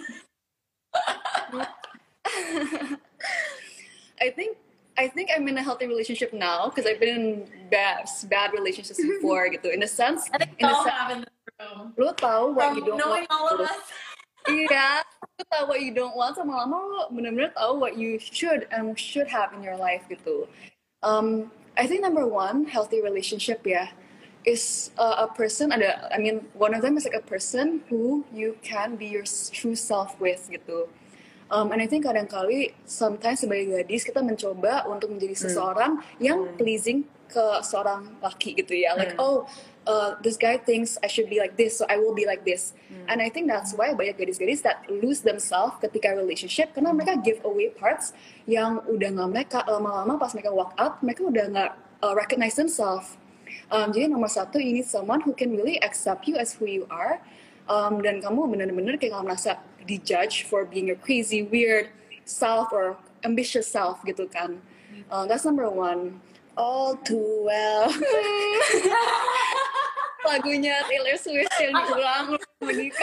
I think I think I'm in a healthy relationship now because I've been in bad bad relationships before gitu. In a sense, I think in a we all sense, have in this Lu tahu what you From don't knowing want. all of us. Iya, lu tahu what you don't want, sama lama lu benar-benar tahu what you should and should have in your life gitu. Um, I think number one, healthy relationship ya, is uh, a person ada, I mean one of them is like a person who you can be your true self with gitu. Um, and I think kadang-kali sometimes sebagai gadis kita mencoba untuk menjadi seseorang yang pleasing ke seorang laki gitu ya, like oh uh, this guy thinks I should be like this, so I will be like this. And I think that's why banyak gadis-gadis that lose themselves ketika relationship karena mereka give away parts yang udah nggak mereka, lama-lama pas mereka walk out mereka udah nggak uh, recognize themselves. Um, jadi nomor satu, you need someone who can really accept you as who you are. Um, dan kamu benar-benar kayak nggak merasa dijudge for being a crazy, weird self or ambitious self gitu kan. Uh, that's number one. All too well. Lagunya Taylor Swift yang diulang begitu.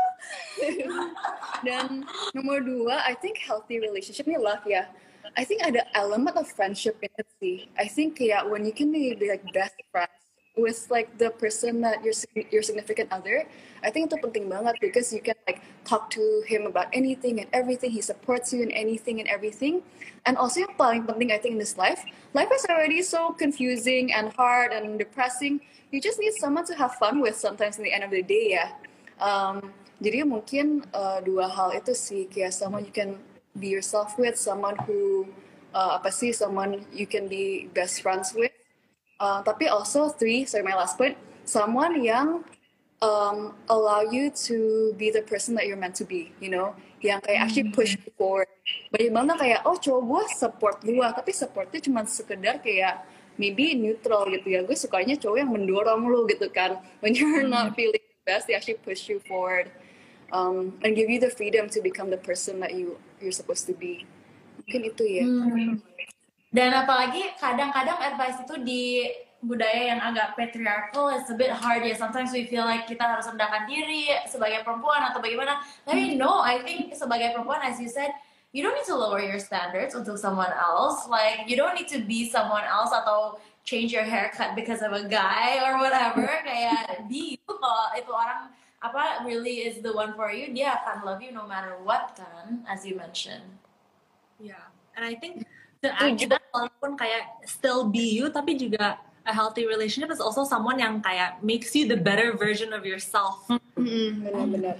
Dan nomor dua, I think healthy relationship ini love ya. I think ada element of friendship in it sih. I think yeah, when you can be, be like best friends with like the person that your your significant other, I think itu penting banget because you can like talk to him about anything and everything. He supports you in anything and everything. And also yang paling penting I think in this life, life is already so confusing and hard and depressing. You just need someone to have fun with sometimes in the end of the day ya. Um, jadi mungkin uh, dua hal itu sih, kayak someone you can be yourself with, someone who uh, apa sih, someone you can be best friends with. Uh, tapi also three, sorry my last point, someone yang um, allow you to be the person that you're meant to be, you know, yang kayak actually push you forward. Bagaimana kayak, oh cowok gue support gue, tapi supportnya cuma sekedar kayak maybe neutral gitu ya. Gue sukanya cowok yang mendorong lu gitu kan. When you're not feeling the best, they actually push you forward um, and give you the freedom to become the person that you you're supposed to be. Mungkin itu ya. Hmm. Dan apalagi kadang-kadang advice itu di budaya yang agak patriarchal is a bit hard ya. Sometimes we feel like kita harus rendahkan diri sebagai perempuan atau bagaimana. Tapi no, I think sebagai perempuan, as you said, you don't need to lower your standards untuk someone else. Like you don't need to be someone else atau change your haircut because of a guy or whatever. Kayak be you. Kalau itu orang apa really is the one for you, dia akan love you no matter what kan, as you mentioned. Yeah, and I think to add to that, walaupun kayak still be you, tapi juga a healthy relationship is also someone yang kayak makes you the better version of yourself. Mm-hmm. Benar-benar.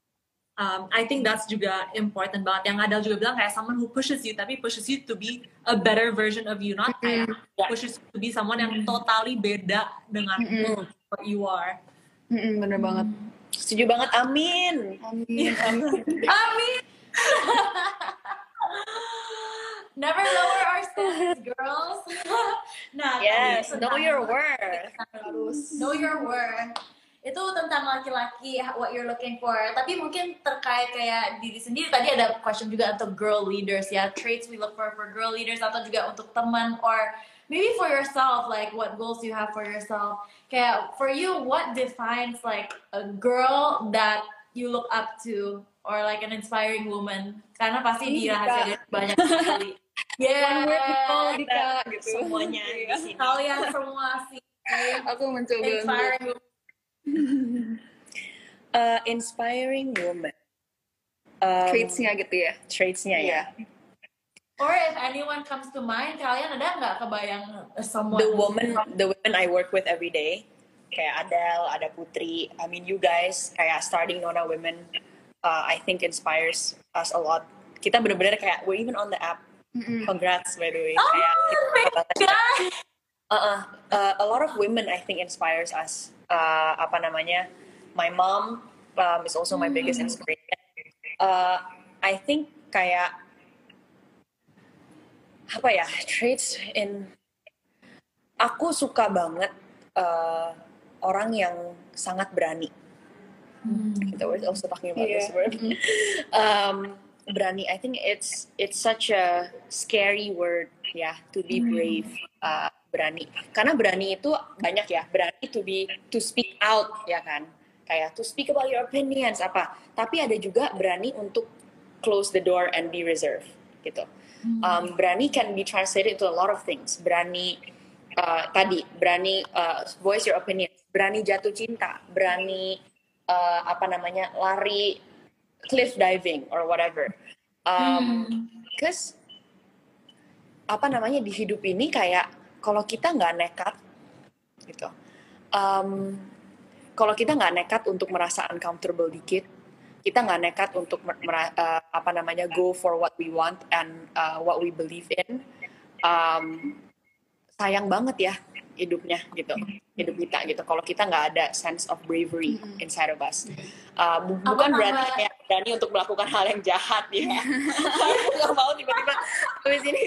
Um, I think that's juga important banget. Yang Adele juga bilang kayak someone who pushes you, tapi pushes you to be a better version of you, not kayak Yeah. pushes you to be someone yang totally beda dengan what you are. Mm-mm, bener banget. Setuju banget, amin. Amin. Amin. Never lower our standards, girls. Nah, Yes, tadi know tentang- your worth. Know your worth. Itu tentang laki-laki, what you're looking for. Tapi mungkin terkait kayak diri sendiri. Tadi ada question juga untuk girl leaders ya. Traits we look for for girl leaders atau juga untuk teman or maybe for yourself, like what goals you have for yourself. Kayak for you, what defines like a girl that you look up to or like an inspiring woman? Karena pasti di rahasia banyak sekali. Yeah, One word call Dika gitu. Semuanya di sini. kalian semua sih Aku mencoba untuk inspiring woman. Uh, inspiring woman. Um, traits-nya gitu ya. Traits-nya ya. Or if anyone comes to mind, kalian ada nggak kebayang someone? The woman, the women I work with every day, kayak Adele, ada Putri. I mean, you guys, kayak starting Nona Women, uh, I think inspires us a lot. Kita bener-bener kayak we're even on the app. Congrats by the way. Oh, Kayak kita thank God. Uh-uh. Uh, a lot of women I think inspires us. Uh, apa namanya? My mom um, is also my biggest inspiration. Uh, I think kayak apa ya, traits in aku suka banget uh, orang yang sangat berani. Kita were also talking about Yeah. this word. um, berani. I think it's it's such a scary word ya, to be brave. Uh, berani. Karena berani itu banyak ya. Berani to be to speak out ya kan. Kayak to speak about your opinions apa. Tapi ada juga berani untuk close the door and be reserved gitu. Um, berani can be translated into a lot of things. Berani uh, tadi berani uh, voice your opinion, berani jatuh cinta, berani uh, apa namanya lari cliff diving or whatever. Um, Hmm. Because apa namanya di hidup ini kayak kalau kita nggak nekat gitu, um, kalau kita nggak nekat untuk merasa uncomfortable dikit, kita nggak nekat untuk mer- mera- uh, apa namanya go for what we want and uh, what we believe in, um, sayang banget ya hidupnya gitu, hidup kita gitu. Kalau kita nggak ada sense of bravery inside of us, uh, bu- Aku bukan berarti tambah- kayak berani untuk melakukan hal yang jahat ya. Nggak mau tiba-tiba habis ini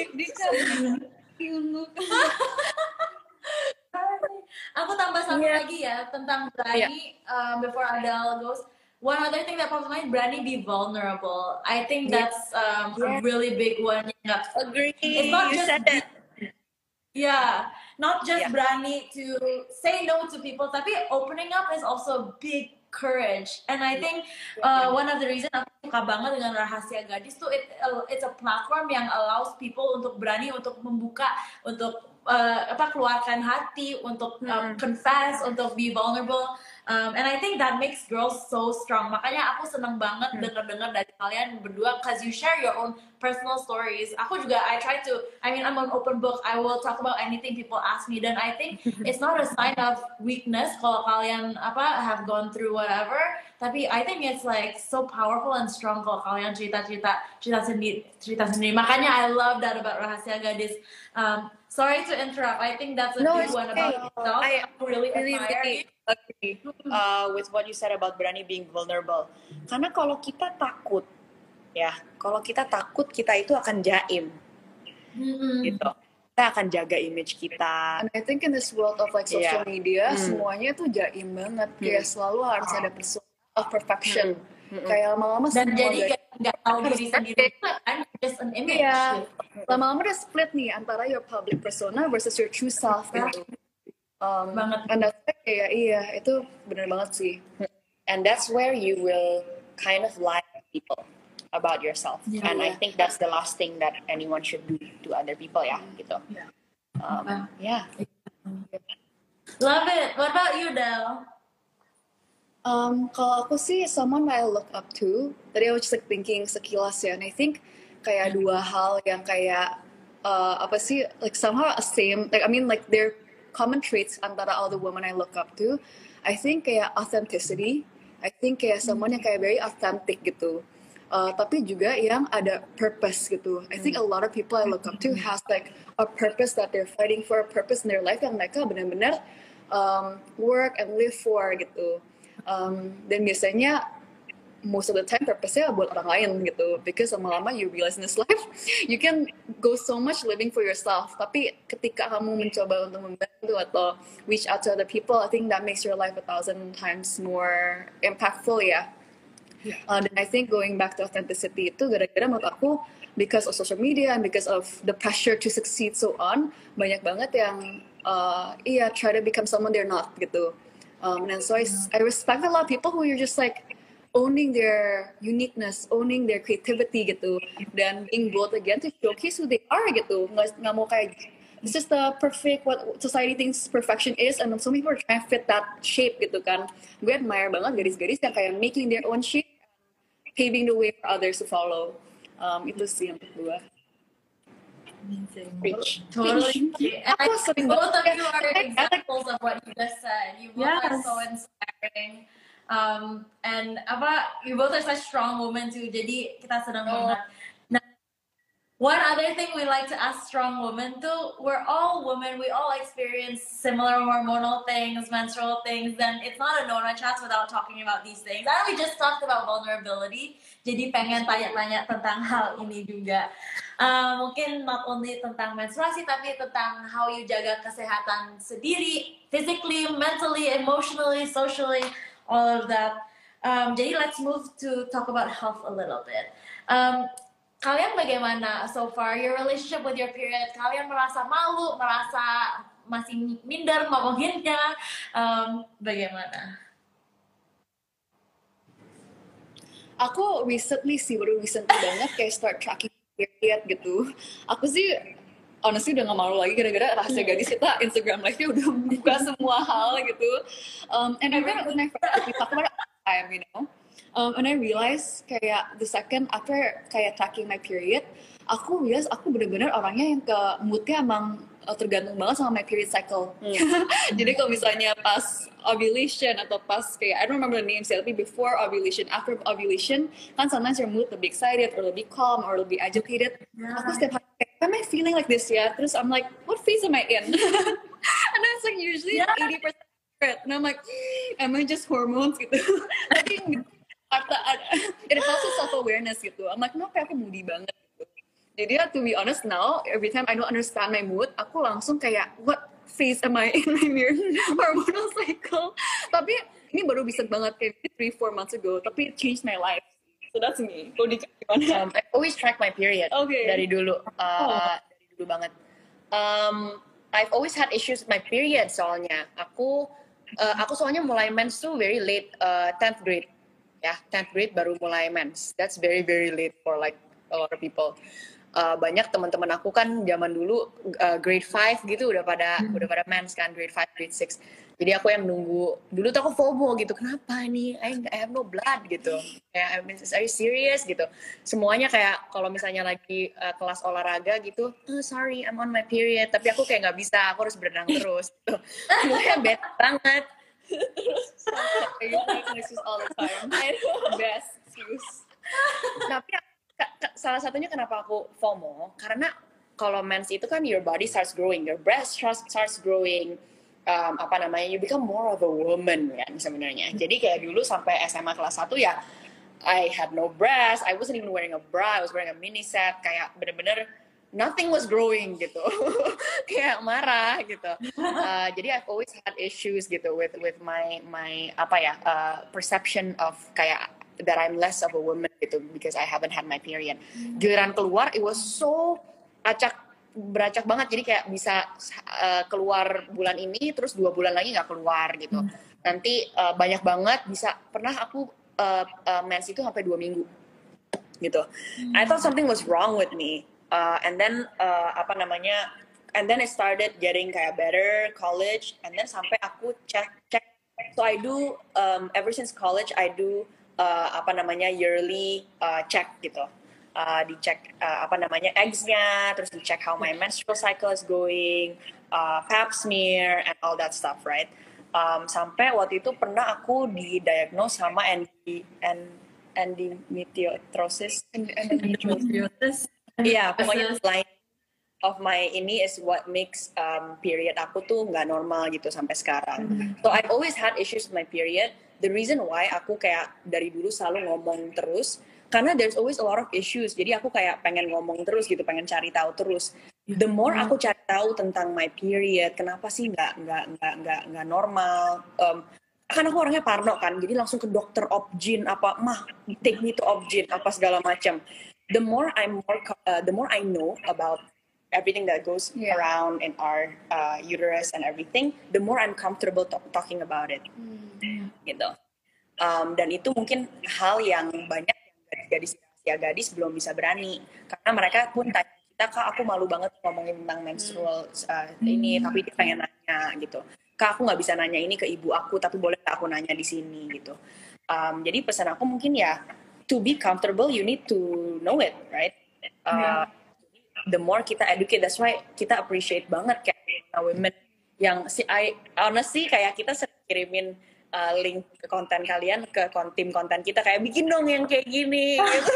Aku tambah satu Iya. lagi ya tentang berani. um, before Adele goes, one other thing that pops to mind, berani be vulnerable. I think Yeah. that's um, Yeah. a really big one. yang nggak- agree. It's not You just said that. Yeah, not just Yeah. berani to say no to people, tapi opening up is also big courage. And I think uh, one of the reason aku suka banget dengan Rahasia Gadis tuh it, it's a platform yang allows people untuk berani untuk membuka, untuk uh, apa keluarkan hati, untuk um, confess, untuk be vulnerable. Um, and I think that makes girls so strong. Makanya aku seneng banget dengar-dengar dari kalian berdua, cause you share your own personal stories. Aku juga I try to, I mean I'm an open book. I will talk about anything people ask me. Dan I think it's not a sign of weakness kalau kalian apa have gone through whatever. Tapi I think it's like so powerful and strong kalau kalian cerita-cerita cerita sendiri, cerita sendiri. Makanya I love that about Rahasia Gadis. Um, sorry to interrupt. I think that's a No, big it's one okay. about yourself. I Aku really really, admire really you. agree uh, with what you said about berani being vulnerable. Karena kalau kita takut, ya, kalau kita takut kita itu akan jaim, Mm-mm. gitu. Kita akan jaga image kita. And I think in this world of like social Yeah. media, Hmm. semuanya tuh jaim banget. Kayak selalu harus ada persona of perfection. Hmm. Kayak lama-lama Dan semua jadi gaya- nggak nggak tahu diri sendiri juga kan, just an image. Iya. Lama-lama udah split nih antara your public persona versus your true self gitu. Um, Banget. and that's why kayak iya, itu bener banget sih. And that's where you will kind of lie to people about yourself. Yeah. And I think that's the last thing that anyone should do to other people, ya, gitu. Yeah. Um, yeah. Love it. What about you, Del? Um, kalau aku sih someone I look up to. Tadi I was just like thinking sekilas ya, and I think kayak dua hal yang kayak uh, apa sih, like somehow a same, like I mean like they're common traits antara all the women I look up to. I think kayak authenticity. I think kayak someone yang kayak very authentic gitu. Uh, tapi juga yang ada purpose gitu. I think a lot of people I look up to has like a purpose that they're fighting for, a purpose in their life yang mereka benar-benar um, work and live for gitu. Um, dan biasanya most of the time purpose-nya buat orang lain gitu, because lama-lama you realize in this life you can go so much living for yourself, tapi ketika kamu mencoba untuk membantu atau reach out to other people, I think that makes your life a thousand times more impactful ya. Uh, dan I think going back to authenticity itu gara-gara menurut aku because of social media and because of the pressure to succeed so on, banyak banget yang uh, iya try to become someone they're not gitu. Um, and so I, I respect a lot of people who are just like owning their uniqueness, owning their creativity gitu, dan being bold again to showcase who they are gitu. Nggak, nggak mau kayak this is the perfect what society thinks perfection is, and so many people are trying to fit that shape gitu kan. Gue admire banget gadis-gadis yang kayak making their own shape, paving the way for others to follow. Um, itu sih yang gue. Preach. Totally. And I Aku think sering both of banget- you are examples of what you just said. You both are Yes. so inspiring. Um, and apa, you both are such strong women too. Jadi kita senang banget. Nah, one other thing we like to ask strong women too, we're all women, we all experience similar hormonal things, menstrual things, and it's not a Nona Chats without talking about these things. And we just talked about vulnerability, jadi pengen tanya-tanya tentang hal ini juga. Uh, mungkin not only tentang menstruasi, tapi tentang how you jaga kesehatan sendiri, physically, mentally, emotionally, socially, all of that. Um, jadi let's move to talk about health a little bit. Um, Kalian bagaimana so far your relationship with your period? Kalian merasa malu, merasa masih minder ngomonginnya? Um, bagaimana? Aku recently sih, baru recently banget kayak start tracking period gitu. Aku sih honestly udah gak malu lagi gara-gara Rahasia Gadis kita Instagram live-nya udah buka semua hal gitu. Um, and I remember when I first talk about it time, you know, um, and I realize kayak the second after kayak tracking my period, aku realize aku bener-bener orangnya yang ke moodnya emang uh, tergantung banget sama my period cycle. Hmm. Jadi kalau misalnya pas ovulation atau pas kayak I don't remember the names ya, tapi before ovulation, after ovulation, kan sometimes your mood lebih excited or lebih calm or lebih agitated. Yeah. Aku setiap hari kayak, am I feeling like this ya? Terus I'm like, what phase am I in? And it's like usually yeah. eighty percent and I'm like, am I just hormones gitu? Tapi it helps with self-awareness gitu. I'm like, kenapa aku moody banget? Jadi ya, to be honest now, every time I don't understand my mood, aku langsung kayak, what phase am I in my hormonal cycle? Tapi ini baru bisa banget kayak three, four months ago, tapi it changed my life. So that's me. Kau di um, I always track my period okay. dari dulu, uh, oh. dari dulu banget. Um, I've always had issues with my period soalnya. Aku, uh, aku soalnya mulai mens tuh very late, uh, tenth grade. Ya, tenth grade baru mulai mens. That's very very late for like a lot of people. Uh, banyak teman-teman aku kan zaman dulu uh, grade five gitu udah pada hmm. udah pada mens kan, grade five, grade six. Jadi aku yang nunggu. Dulu tuh aku FOMO gitu. Kenapa nih? I, I have no blood gitu. Kayak, I mean, are you serious gitu. Semuanya kayak kalau misalnya lagi uh, kelas olahraga gitu, oh, sorry, I'm on my period. Tapi aku kayak nggak bisa. Aku harus berenang terus. Gitu. Semuanya bad banget. Terus I use my excuses all the time. I know. Best excuse. Tapi salah satunya kenapa aku FOMO, karena kalau mens itu kan your body starts growing, your breast starts growing, um, apa namanya, you become more of a woman kan sebenarnya. Jadi kayak dulu sampai S M A kelas satu ya, I had no breast, I wasn't even wearing a bra, I was wearing a mini set, kayak bener-bener nothing was growing gitu, kayak marah gitu. Uh, jadi I've always had issues gitu with with my my apa ya uh, perception of kayak that I'm less of a woman gitu because I haven't had my period. Giliran keluar, it was so acak beracak banget. Jadi kayak bisa uh, keluar bulan ini, terus dua bulan lagi nggak keluar gitu. Hmm. Nanti uh, banyak banget bisa. Pernah aku uh, uh, mens itu sampai dua minggu gitu. Hmm. I thought something was wrong with me. Uh, and then uh, apa namanya? And then I started getting kayak better college. And then sampai aku cek cek. So I do um, ever since college I do Uh, apa namanya yearly uh, check gitu, uh, dicek uh, apa namanya eggsnya, terus dicek how my menstrual cycle is going, uh, pap smear and all that stuff, right? Um, sampai waktu itu pernah aku didiagnose sama endi and endometriosis, endometriosis, iya pokoknya line of my ini is what makes um, period aku tuh nggak normal gitu sampai sekarang. Mm-hmm. So I've always had issues with my period. The reason why aku kayak dari dulu selalu ngomong terus, karena there's always a lot of issues. Jadi aku kayak pengen ngomong terus gitu, pengen cari tahu terus. The more aku cari tahu tentang my period, kenapa sih nggak nggak nggak nggak nggak normal? Um, kan aku orangnya parno kan, jadi langsung ke dokter obgyn apa, mah take me to obgyn apa segala macam. The more I'm more, uh, the more I know about everything that goes yeah. around in our uh, uterus and everything, the more I'm comfortable to- talking about it. Hmm. Gitu. Um, dan itu mungkin hal yang banyak yang gadis rahasia gadis belum bisa berani, karena mereka pun tanya kita, kak aku malu banget ngomongin tentang menstrual uh, ini, tapi dia pengen nanya gitu, kak aku nggak bisa nanya ini ke ibu aku, tapi boleh aku nanya di sini gitu. Um, jadi pesan aku mungkin ya, to be comfortable you need to know it, right? Uh, yeah. The more kita educate, that's why kita appreciate banget kayak women yang si I honestly kayak kita sering kirimin Uh, link ke konten kalian ke kon- tim konten kita kayak bikin dong yang kayak gini gitu.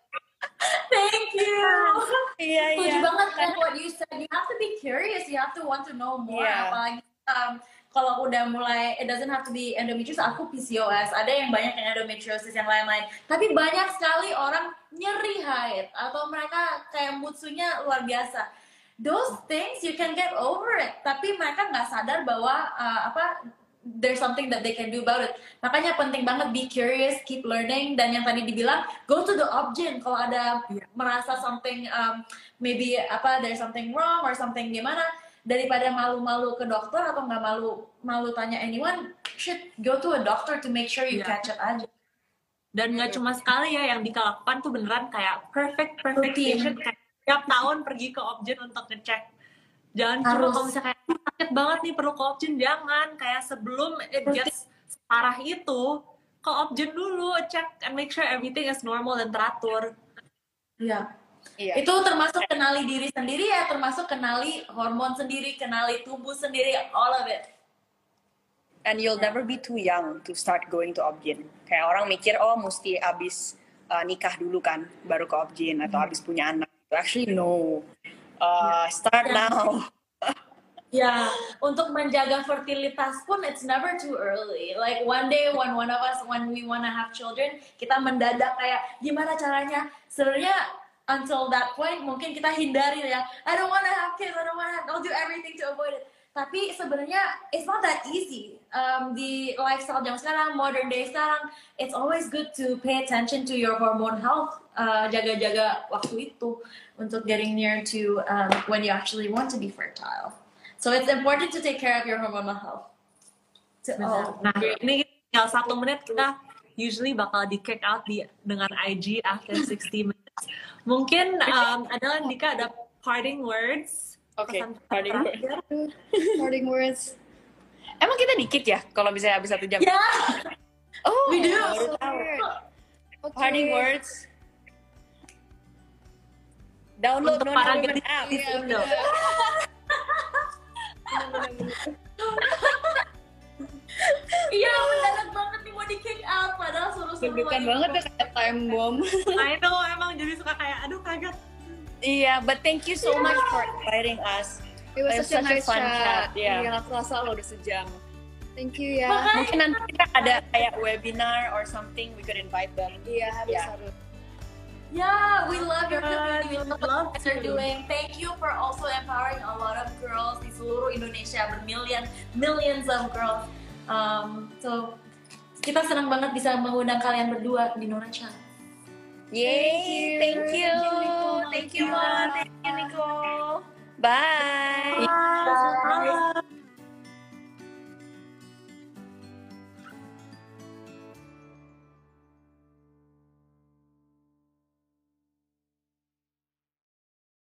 Thank you. Iya iya. Setuju banget kan what you said. You have to be curious. You have to want to know more. Yeah. Apalagi um, kalau udah mulai, it doesn't have to be endometriosis. Aku P C O S. Ada yang banyak yang endometriosis yang lain-lain. Tapi banyak sekali orang nyeri haid atau mereka kayak mood swing-nya luar biasa. Those things you can get over it. Tapi mereka nggak sadar bahwa uh, apa there's something that they can do about it. Makanya penting banget be curious, keep learning, dan yang tadi dibilang go to the obgyn kalau ada yeah. merasa something um, maybe apa there's something wrong or something gimana, daripada malu-malu ke dokter atau nggak malu malu tanya anyone, should go to a doctor to make sure you yeah. catch it aja. Dan nggak cuma sekali ya yang Dika lakukan tuh beneran kayak perfect perfect patient, kayak tiap tahun pergi ke obgyn untuk ngecek Jangan cuma Harus. kalau misalnya kayak sakit banget nih perlu co-option, jangan. Kayak sebelum it gets parah itu, co-option dulu, check and make sure everything is normal dan teratur. Iya. Iya. Itu termasuk kenali diri sendiri ya, termasuk kenali hormon sendiri, kenali tubuh sendiri, all of it. And you'll never be too young to start going to obgyn. Kayak orang mikir, oh mesti abis uh, nikah dulu kan, baru ke obgyn, atau abis punya anak. Actually no. Uh, start Yeah. now. Ya, untuk menjaga fertilitas pun it's never too early. Like one day when one of us when we wanna have children, kita mendadak kayak gimana caranya? Sebenarnya until that point mungkin kita hindari ya. I don't wanna have kids, I don't wanna have, I'll do everything to avoid it. Tapi sebenarnya it's not that easy. Um, di lifestyle jam sekarang, modern day sekarang, it's always good to pay attention to your hormone health. Uh, jaga-jaga waktu itu untuk getting near to um, when you actually want to be fertile. So it's important to take care of your hormonal health. To all. Nah, ini tinggal satu menit kita usually bakal di kick out di dengan I G after sixty minutes. Mungkin um, ada Dika ada parting words. Oke, Pesan parting words. terakhir. Parting words. Emang kita dikit ya kalau misalnya habis satu jam? Yeah, Oh, we do. baru tahu. Parting words. Download Untuk Nona para Women gadis app. di Iya, Indo. Iya, mendadak banget nih mau di kick out, padahal suruh-suruh Deg-degan lagi. banget ya kayak time bomb. I know, emang jadi suka kayak aduh kaget. Iya, but thank you so much for inviting us. It was It was such a such a nice fun chat. chat, yeah. Iya, nggak kerasa loh udah sejam. Thank you ya. Makanya- Mungkin nanti kita ada kayak webinar or something, we could invite them. Iya, harus Yeah. harus. Yeah, we love your community. We Good, love we love what you're to. doing. Thank you for also empowering a lot of girls di seluruh Indonesia, bermillion, millions of girls. Um, so kita senang banget bisa mengundang kalian berdua di Nona Chan. Yay! Thank you. Thank you, Nicole. Thank you, Mom. Thank you, Nicole. Bye.